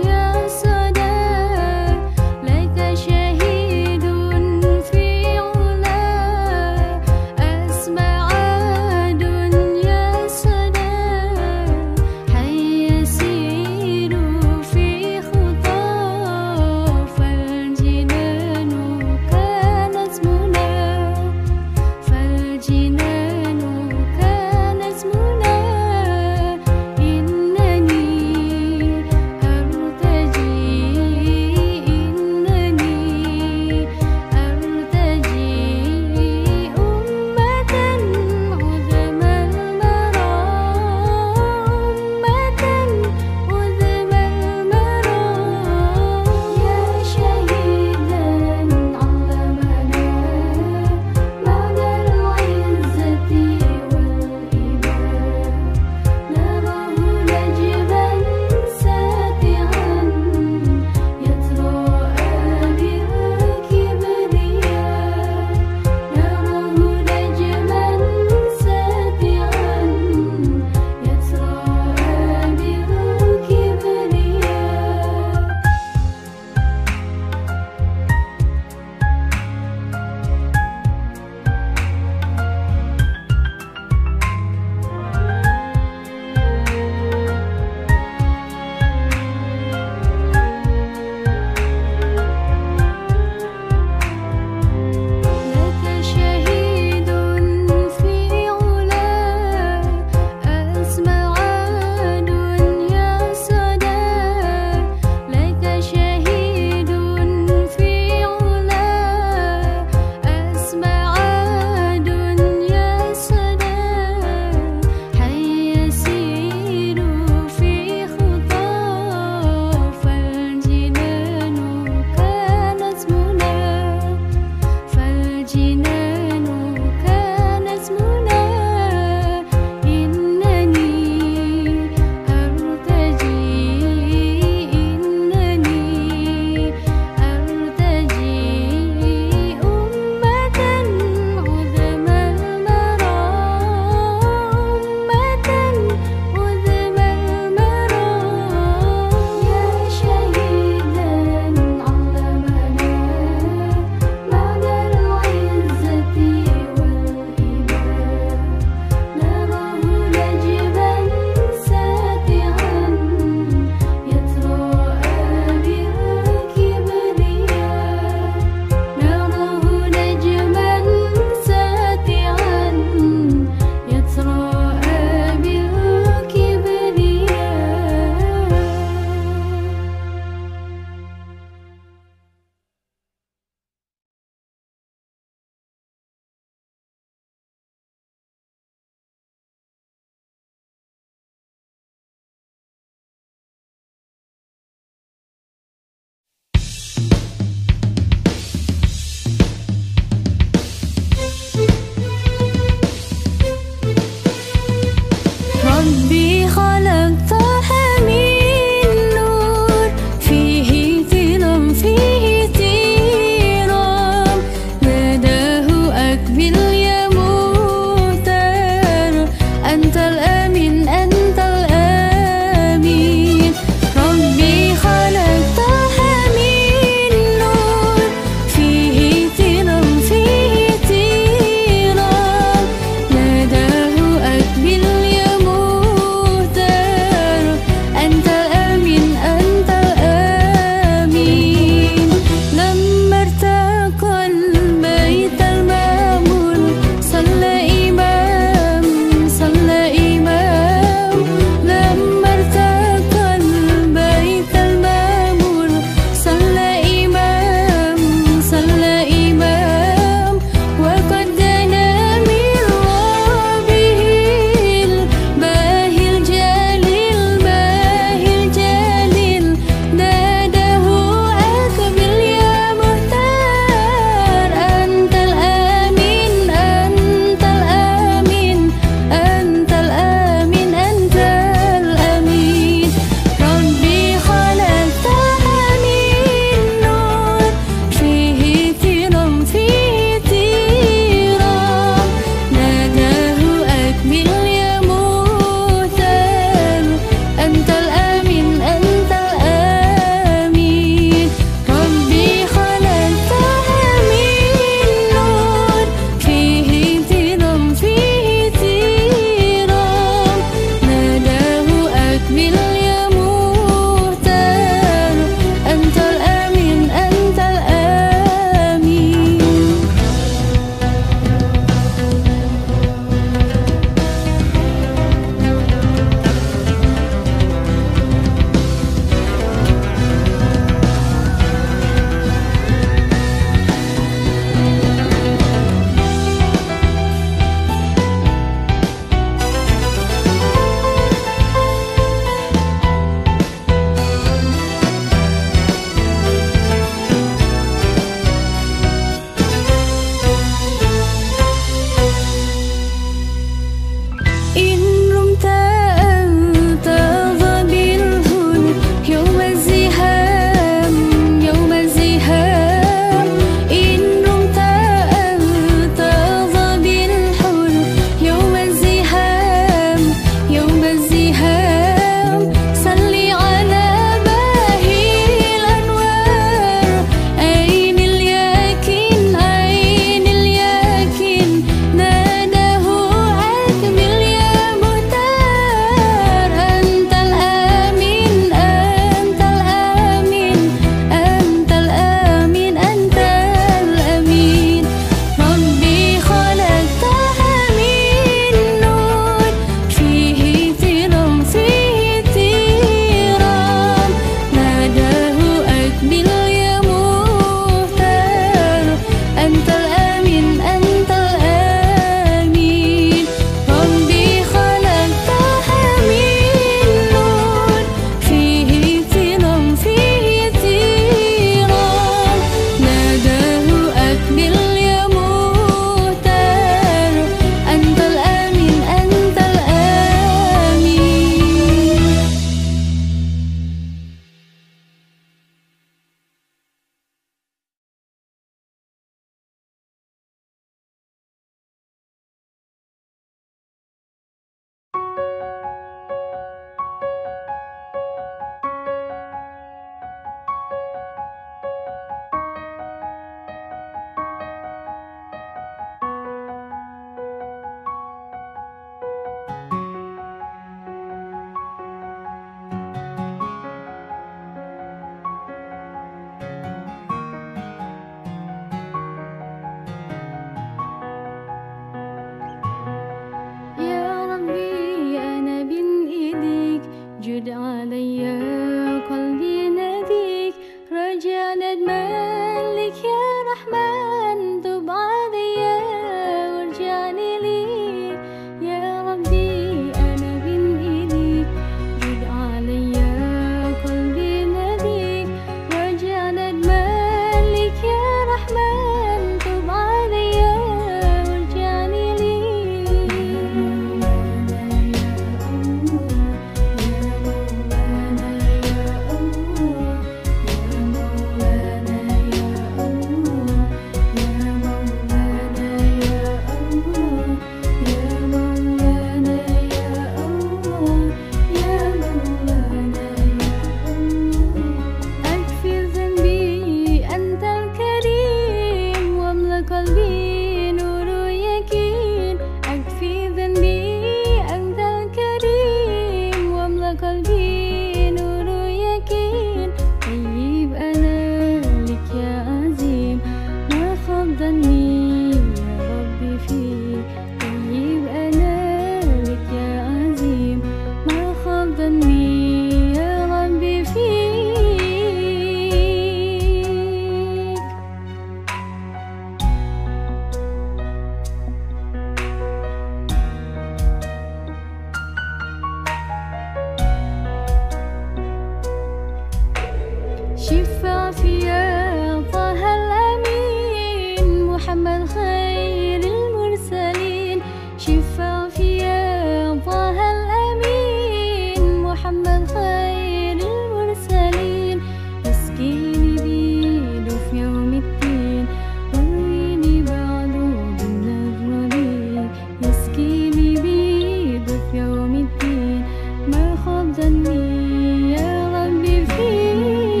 شفع فيا طه الأمين محمد خير المرسلين شفع فيا طه الأمين محمد خير المرسلين اسقيني بيده في يوم الدين ورويني بعده بالنجم يسقيني بيده في يوم الدين ما خاب ظني يا ربي فيه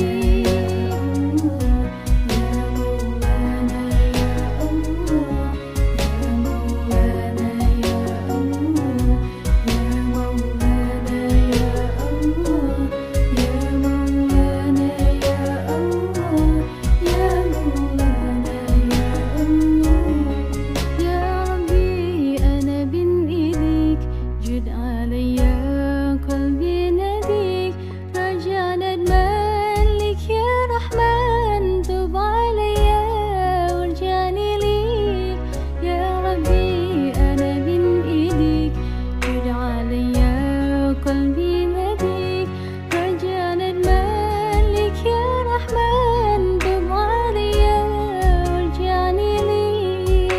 يا مولانا يا الله يا مولانا يا الله يا مولانا يا الله يا مولانا يا الله يا مولانا يا الله يا ربي أنا بين إيديك جد عليا قلبي ناديك رجاء ندمانك يا رحمن تب عليا وارجعني ليك يا ربي أنا بين إيديك جد عليا قلبي ناديك رجاء ندمانك يا رحمن تب عليا وارجعني ليك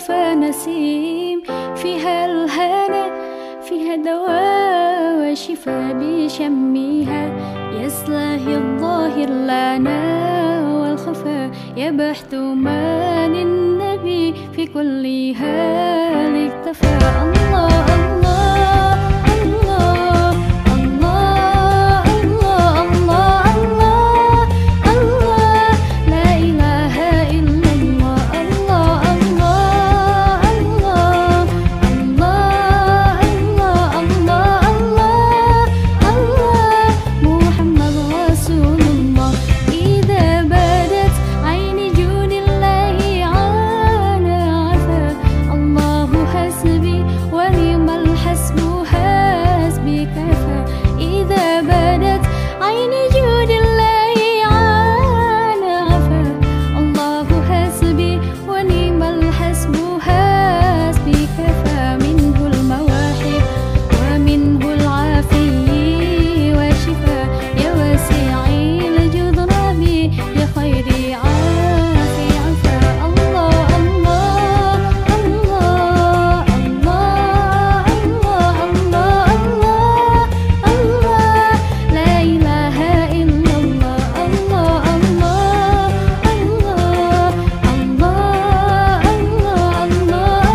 مصطفى نسيم، فيها الهنا فيها دواء وشفاء بشمها، يصلح الظاهر لنا والخفاء، يا بحث من النبي في كل حال اكتفى. الله الله الله الله الله الله الله الله، لا إله إلا الله. الله الله الله الله الله الله الله، محمد رسول الله. إذا بدت عين جود الله عانى عفا، الله حسبي ونعم الحسب حسبي كفى. إذا بدت عين جود الله عانى عفا، الله حسبي ونعم الحسب حسبي كفى. منه المواهب ومنه العافية والشفاء، يا واسع الجود ربي يا خير عافي عفا. الله الله الله الله الله الله الله، لا إله إلا الله. الله الله الله الله الله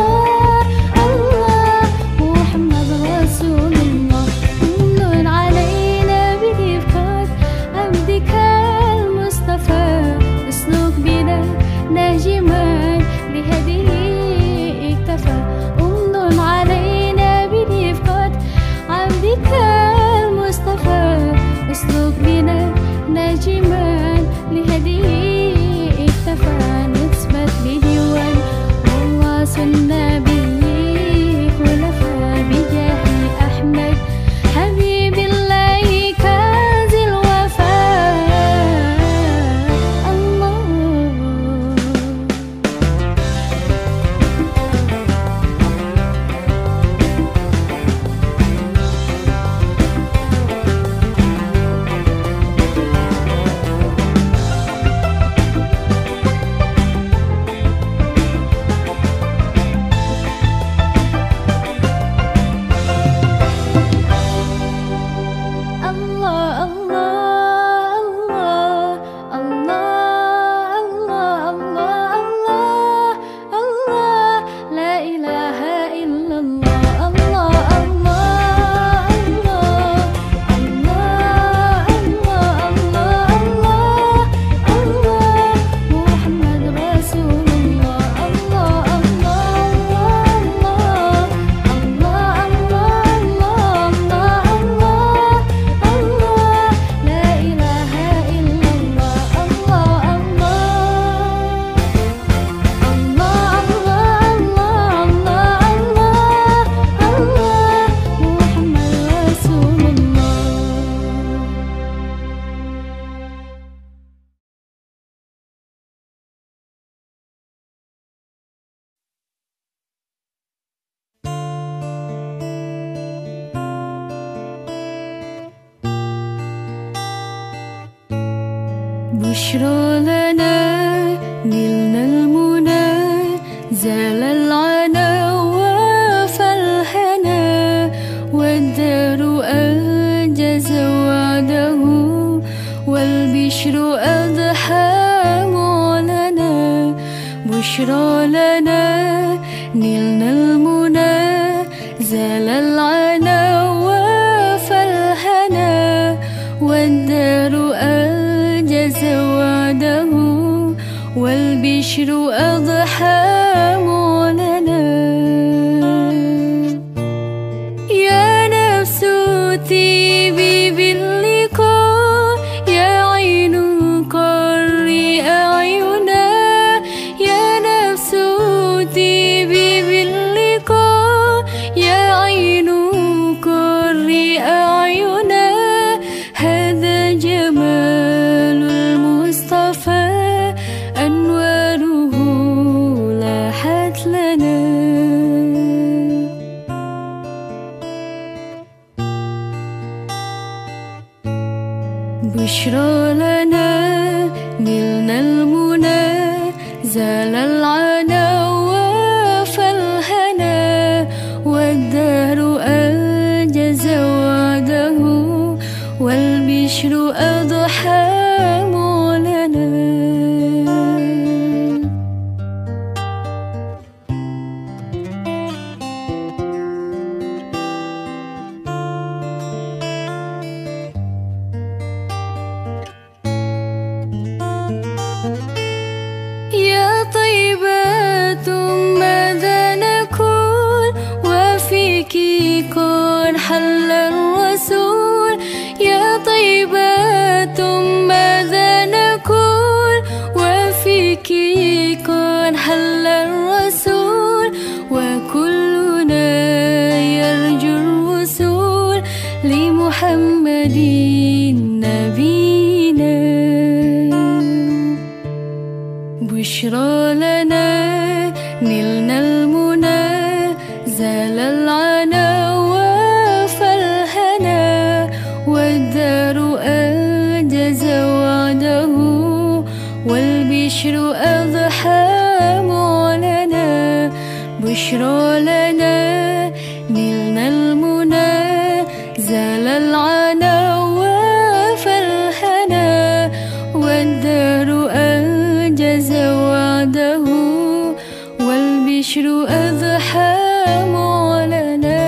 الله، محمد رسول الله. كل علينا برفقة عبدك المصطفى، اسلك بنا نهجما بهديه اكتفى. أمن علينا برفقة عبدك المصطفى، اسلك بنا نهجما لهديه اكتفى. نثبت بديوان والله النبي خلفاء، بجاه أحمد حبيب الله كنز الوفاء. الله بشرى لنا نلنا المنى، زال العنا وفالهنا، والدار أنجز وعده، والبشر أضحى معلنا. بشرى لنا نلنا المنى، زال العنا وفالهنا، والدار أنجز وعده، والبشر أضحى معلنا. يا نفس طيبي باللقاء، يا عين قري أعينا. يا نفس طيبي باللقاء، يا عين قري أعينا. هذا جمال المصطفى، أنواره لاحت لنا. بشرى لنا نلنا المنى، زال العنا ماذا نقول وفيك كن حل الرسول يا طيبة ماذا نقول وفيك كن حل الرسول وكلنا يرجو الوصول لمحمد نبينا بشرى لنا نلنا المنى زال العنا وفالهنا والدار أنجز وعده والبشر أضحى معلنا بشرى لنا نلنا المنى زال العنا وفالهنا والدار أنجز وعده والبشر أضحى معلنا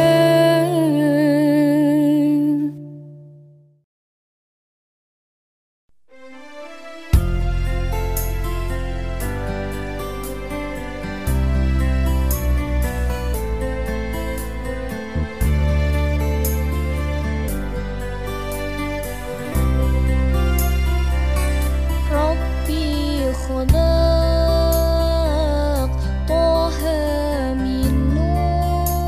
ربي خلق طه من نور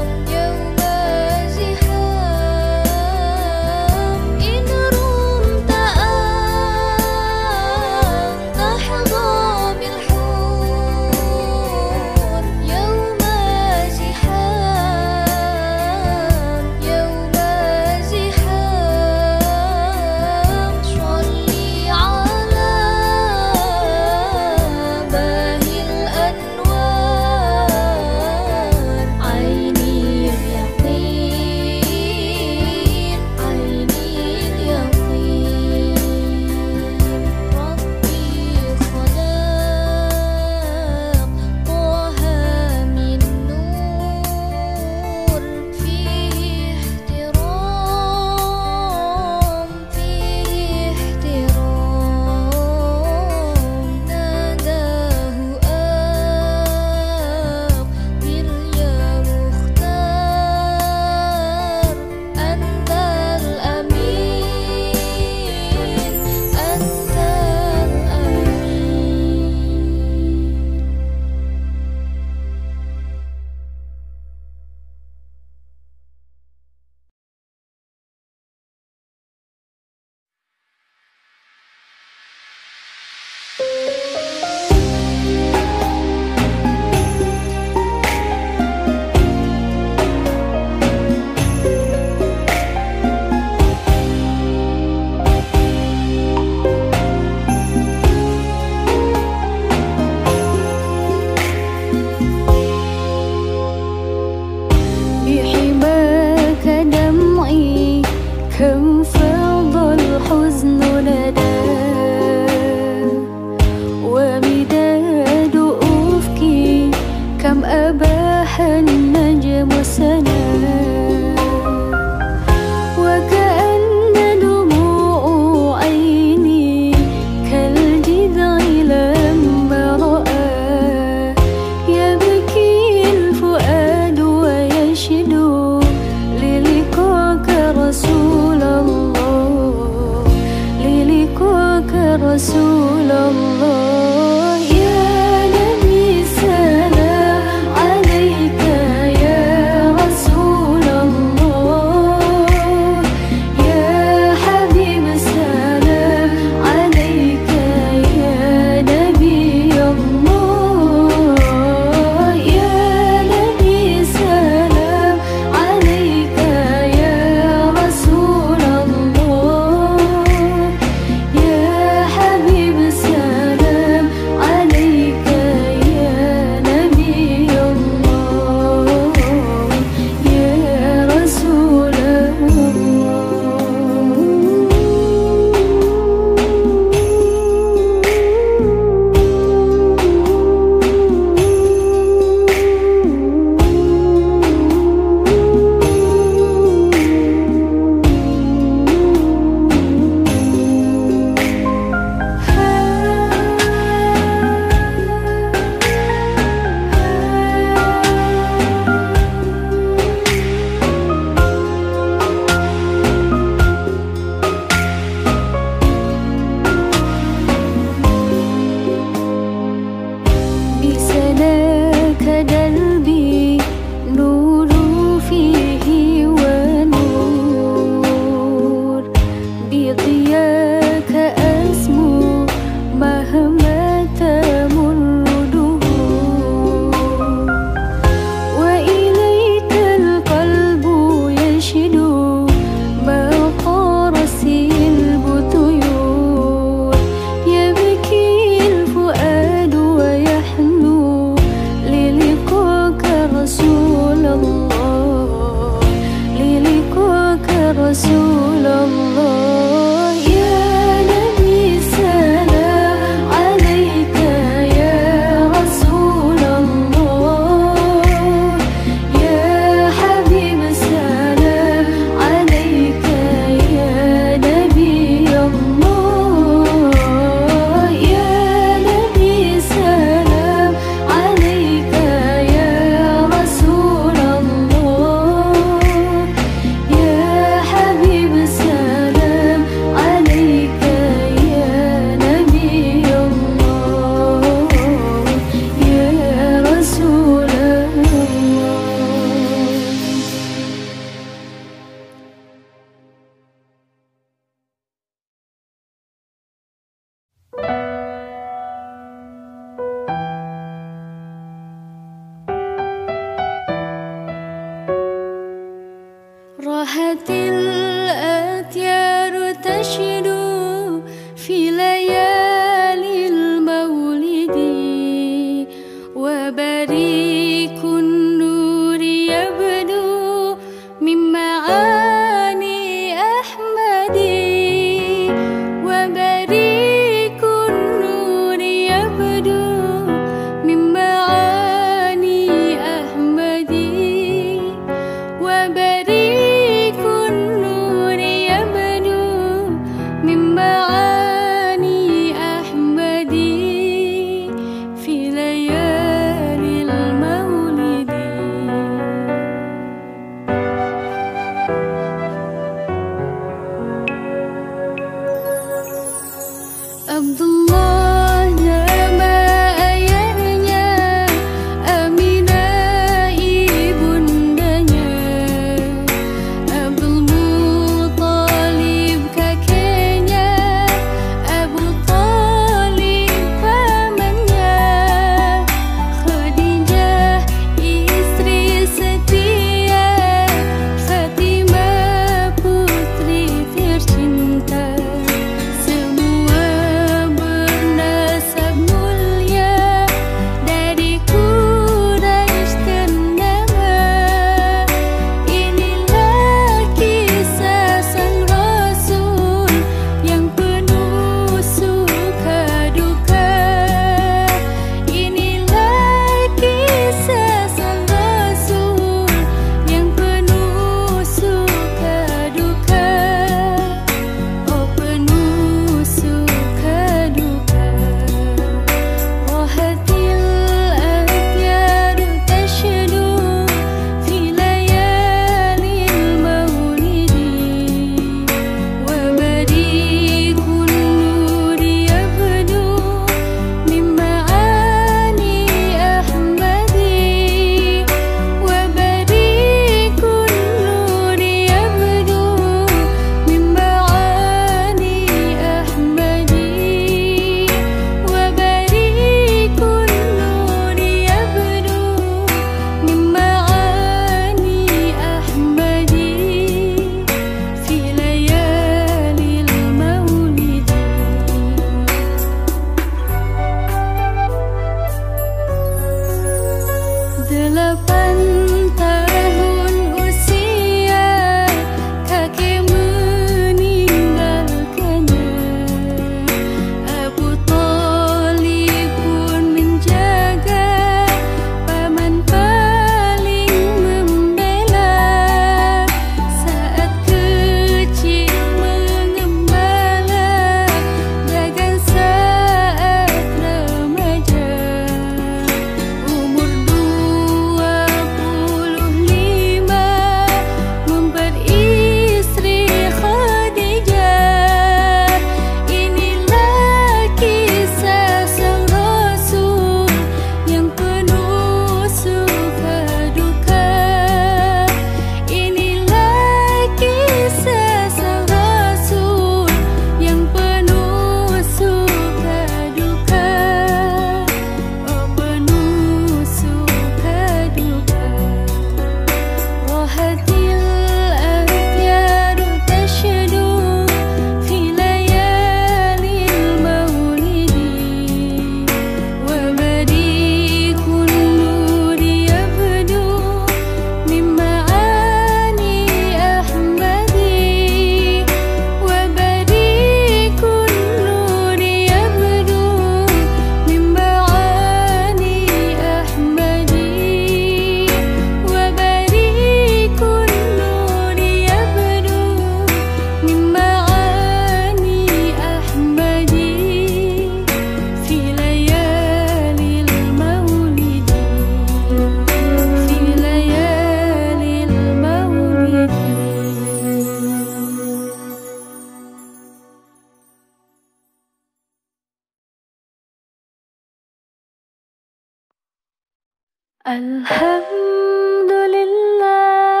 Alhamdulillah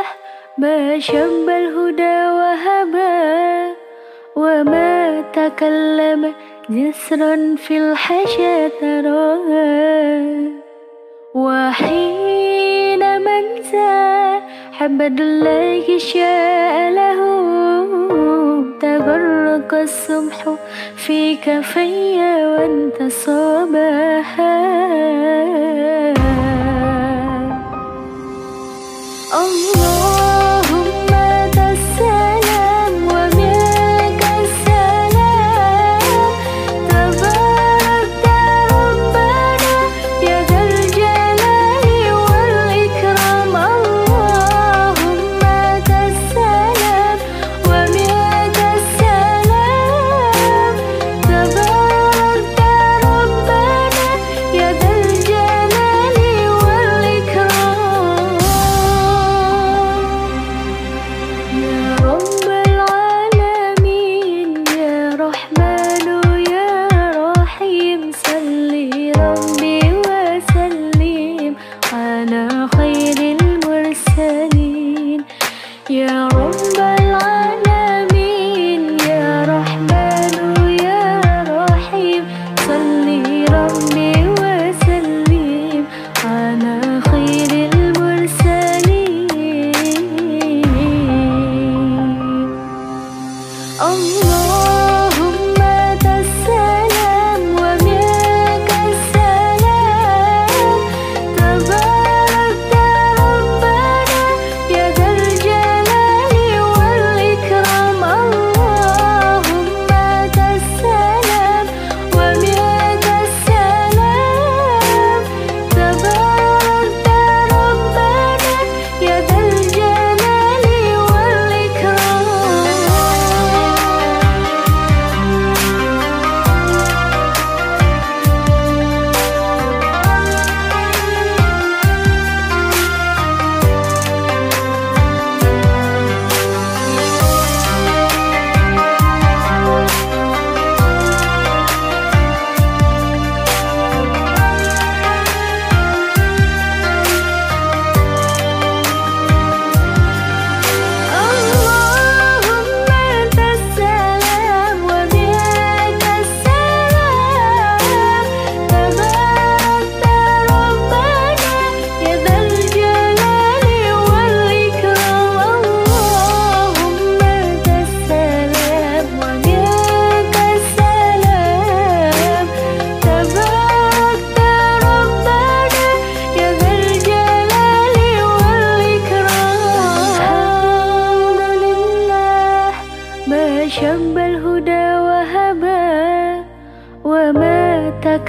ma syabbal huda wa haba wa ma takallama jisran fil hasya taraha wa hina manza habadullahi sya'alahu tagarraqa as-subhu fi kafayya wa antasabaha. Allahumma tassalam wa minka salam tabarakta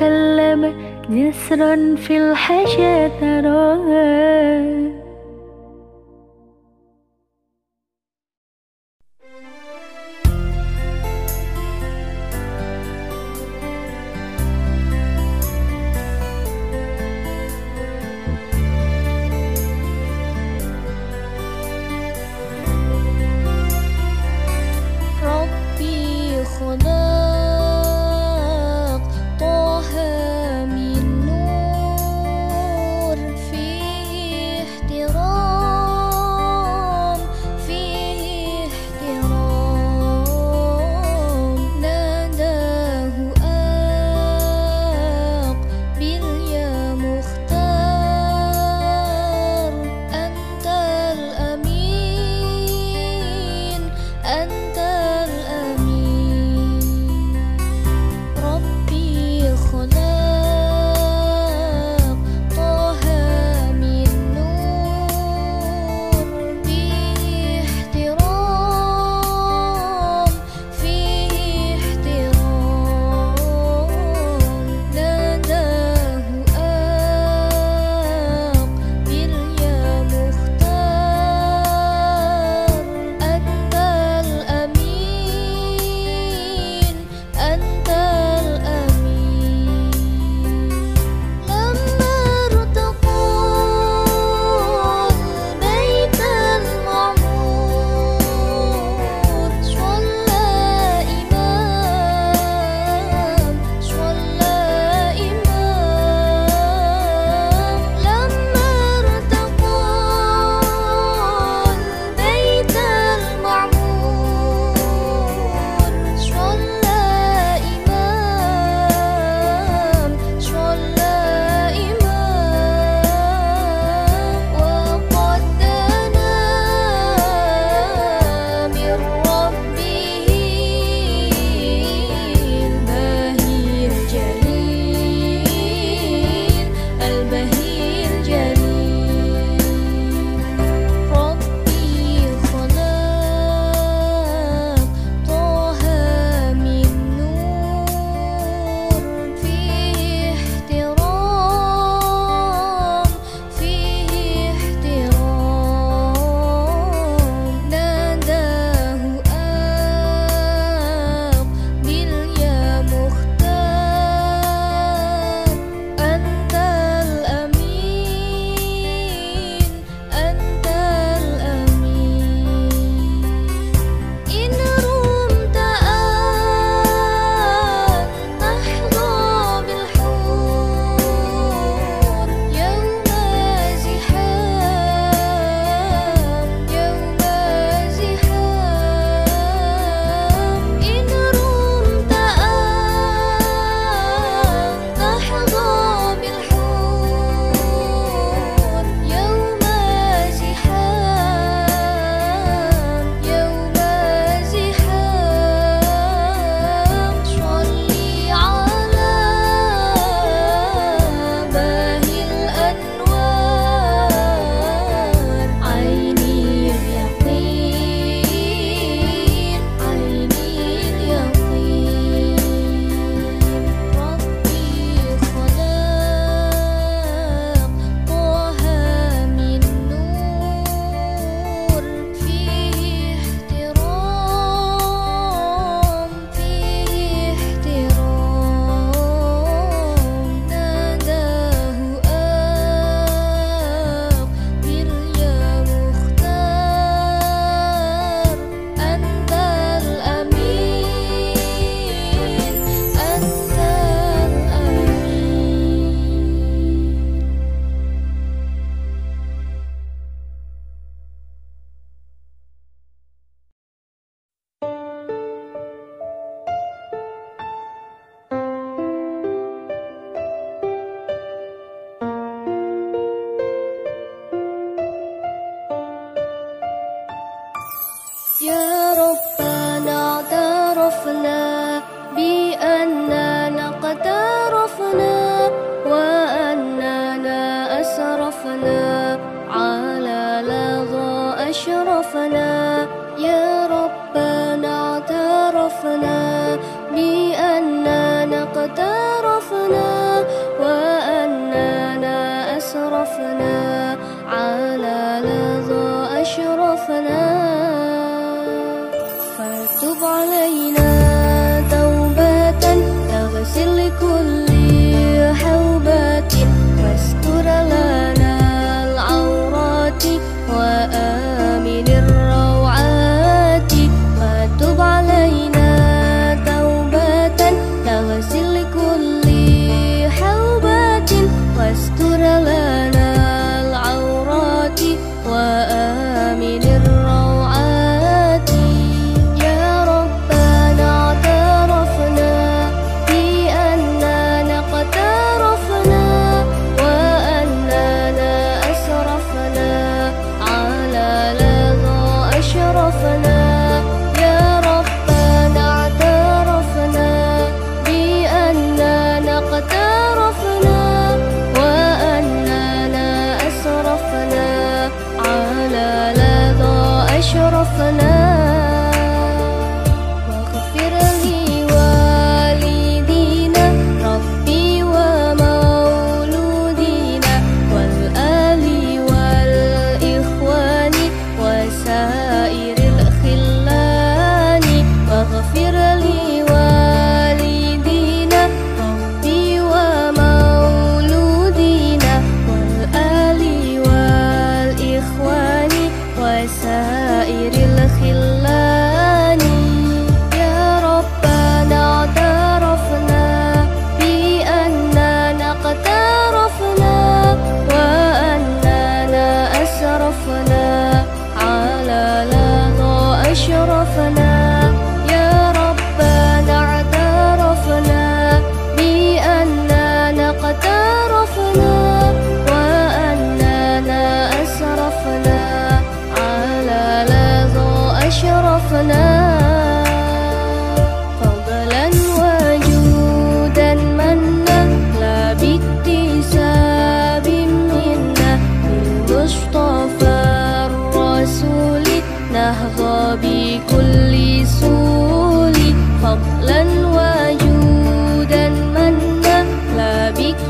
تكلم جسرا في الحاشا تراها. ربي خلق طه من نور فيه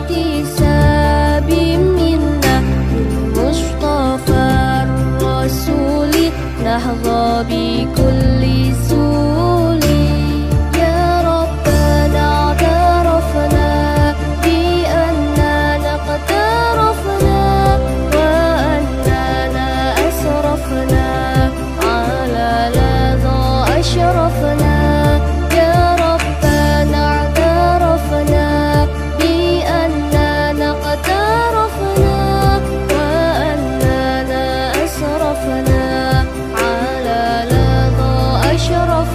باحتساب منا بالمصطفى الرسول نحظى بكل سول. يا ربنا اعترفنا بأننا قد عرفنا وأننا أسرفنا على لظى أشرفنا. يا ربنا اعترفنا بأننا قد عرفنا وأننا أسرفنا على لظى أشرفنا.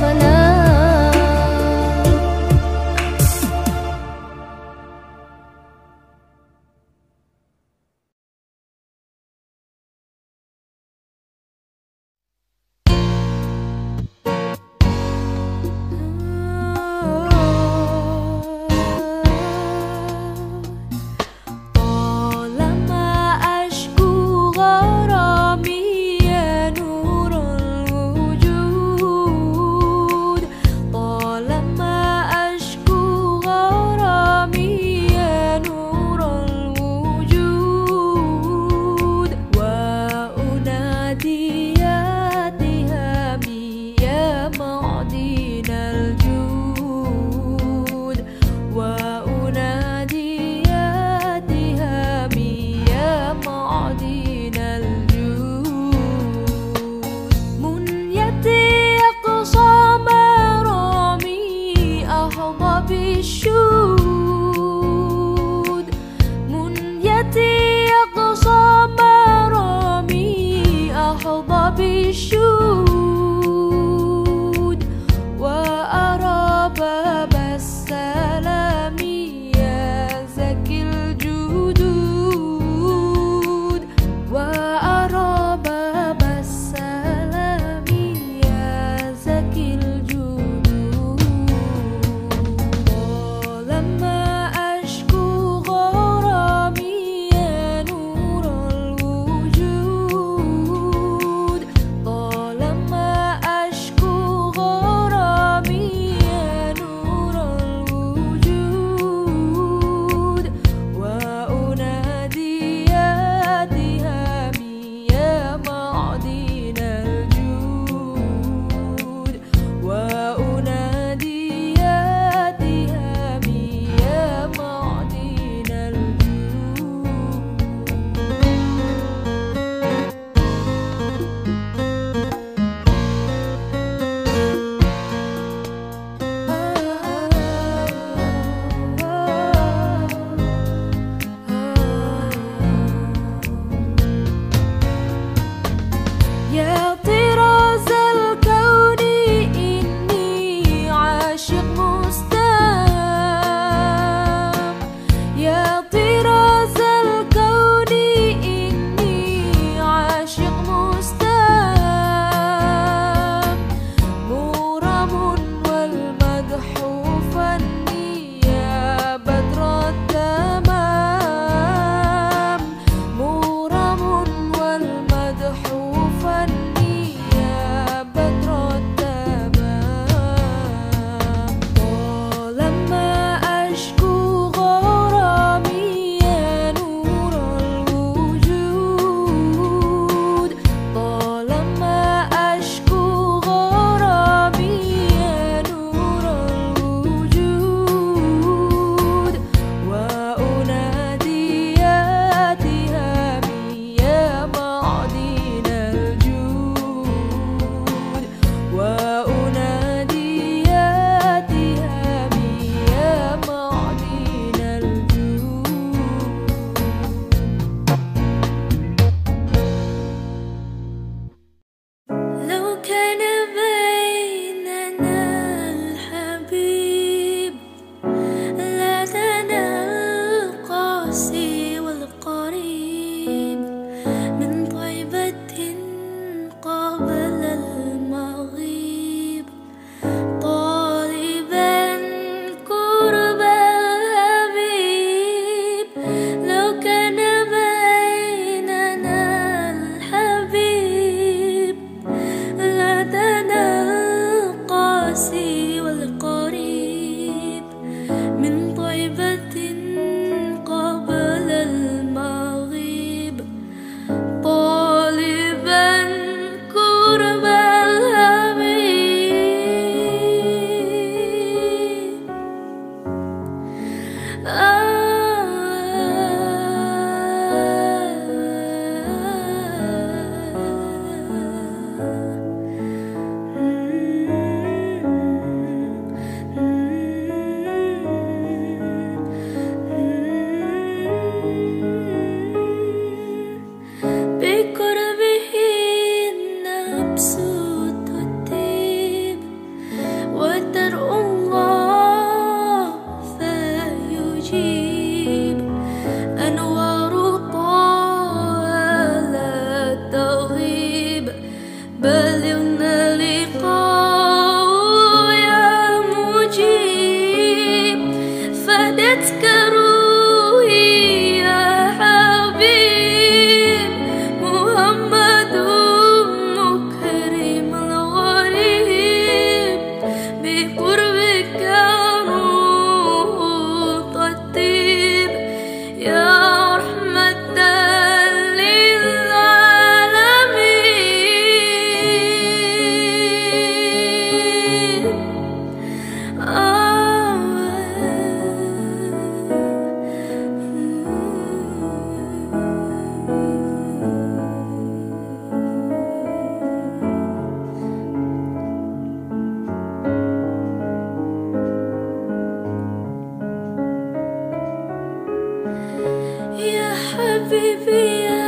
حبيبي يا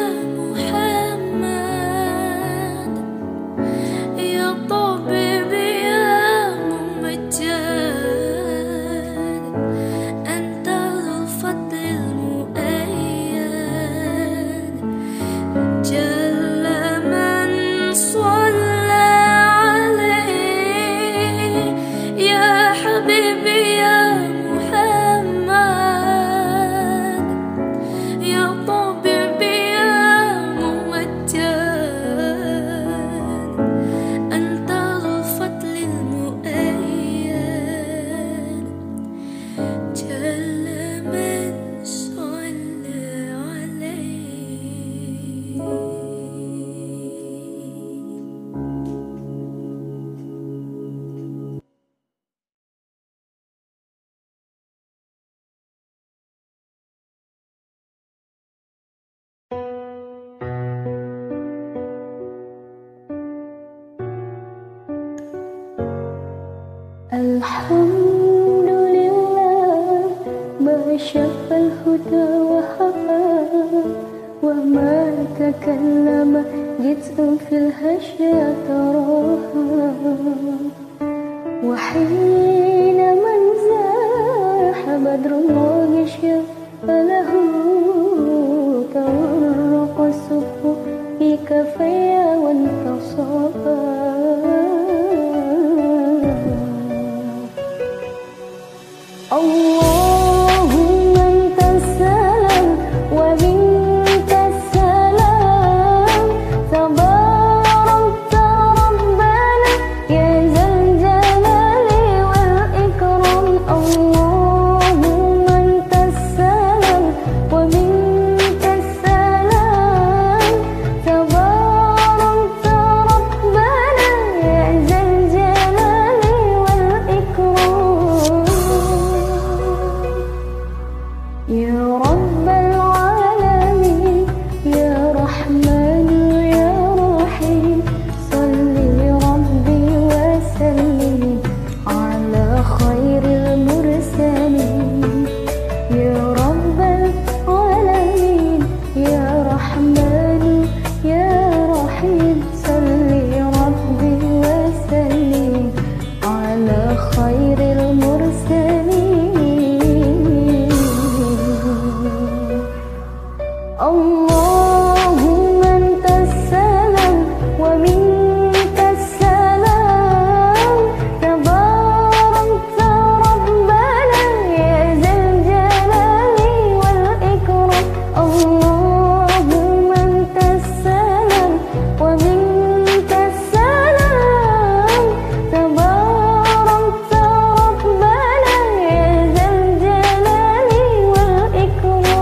محمد، يا طبيبي يا ممجد، أنت ذو الفضل المؤيد، جل من صلى عليه يا حبيبي يا محمد، يا طبيبي يا ممجد، أنت ذو الفضل المؤيد، جل من صلى عليه. Alhamdulillah ma syafal huda wa hawa wa ma takallama jit'un fil hasya taraha wa hina man zaha badrullahi syafalahu tawarraqa subhu fi kafaya wa intasaba. Allahumma antas salam wa minkas salam, tabarakta rabbana ya zal jalali wal ikram. Allahumma antas salam wa minkas salam, tabarakta rabbana ya zal jalali wal ikram. Ya Rabbal Alamin, Ya Rahman Ya Rahim, Salli Rabbi wa sallim ala khairil mursalin. Ya Rabbal Alamin, Ya Rahman Ya Rahim, Salli Rabbi wa sallim ala khairil mursalin. Allahumma antas salam wa minkas salam, tabarakta rabbana ya zal jalali wal ikram. Allahumma antas salam wa minkas salam, tabarakta rabbana ya zal jalali wal ikram.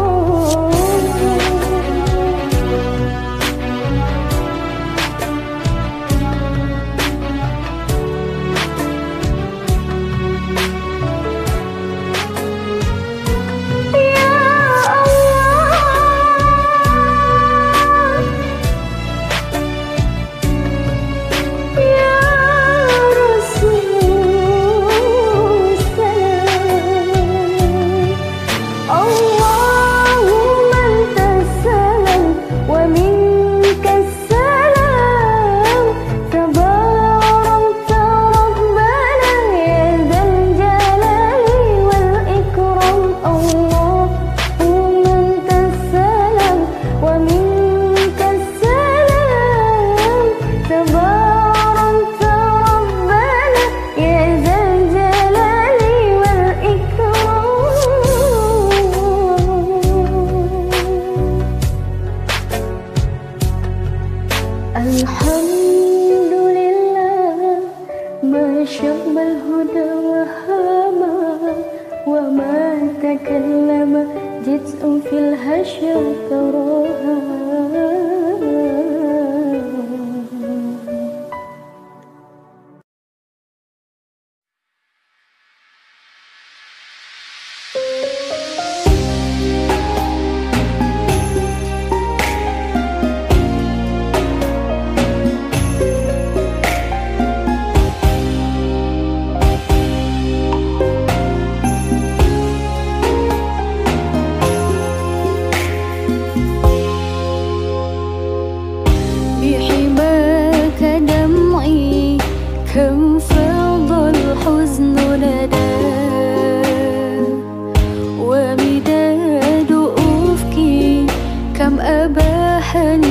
Allahumma antas salam wa minkas salam, tabarakta rabbana ya zal jalali wal ikram. Allahumma antas salam wa minkas salam, tabarakta rabbana ya zal jalali wal ikram. Alhamdulillah ma syabal huda wa hama wa ma takallama jit'un fil hasya taraha. حنين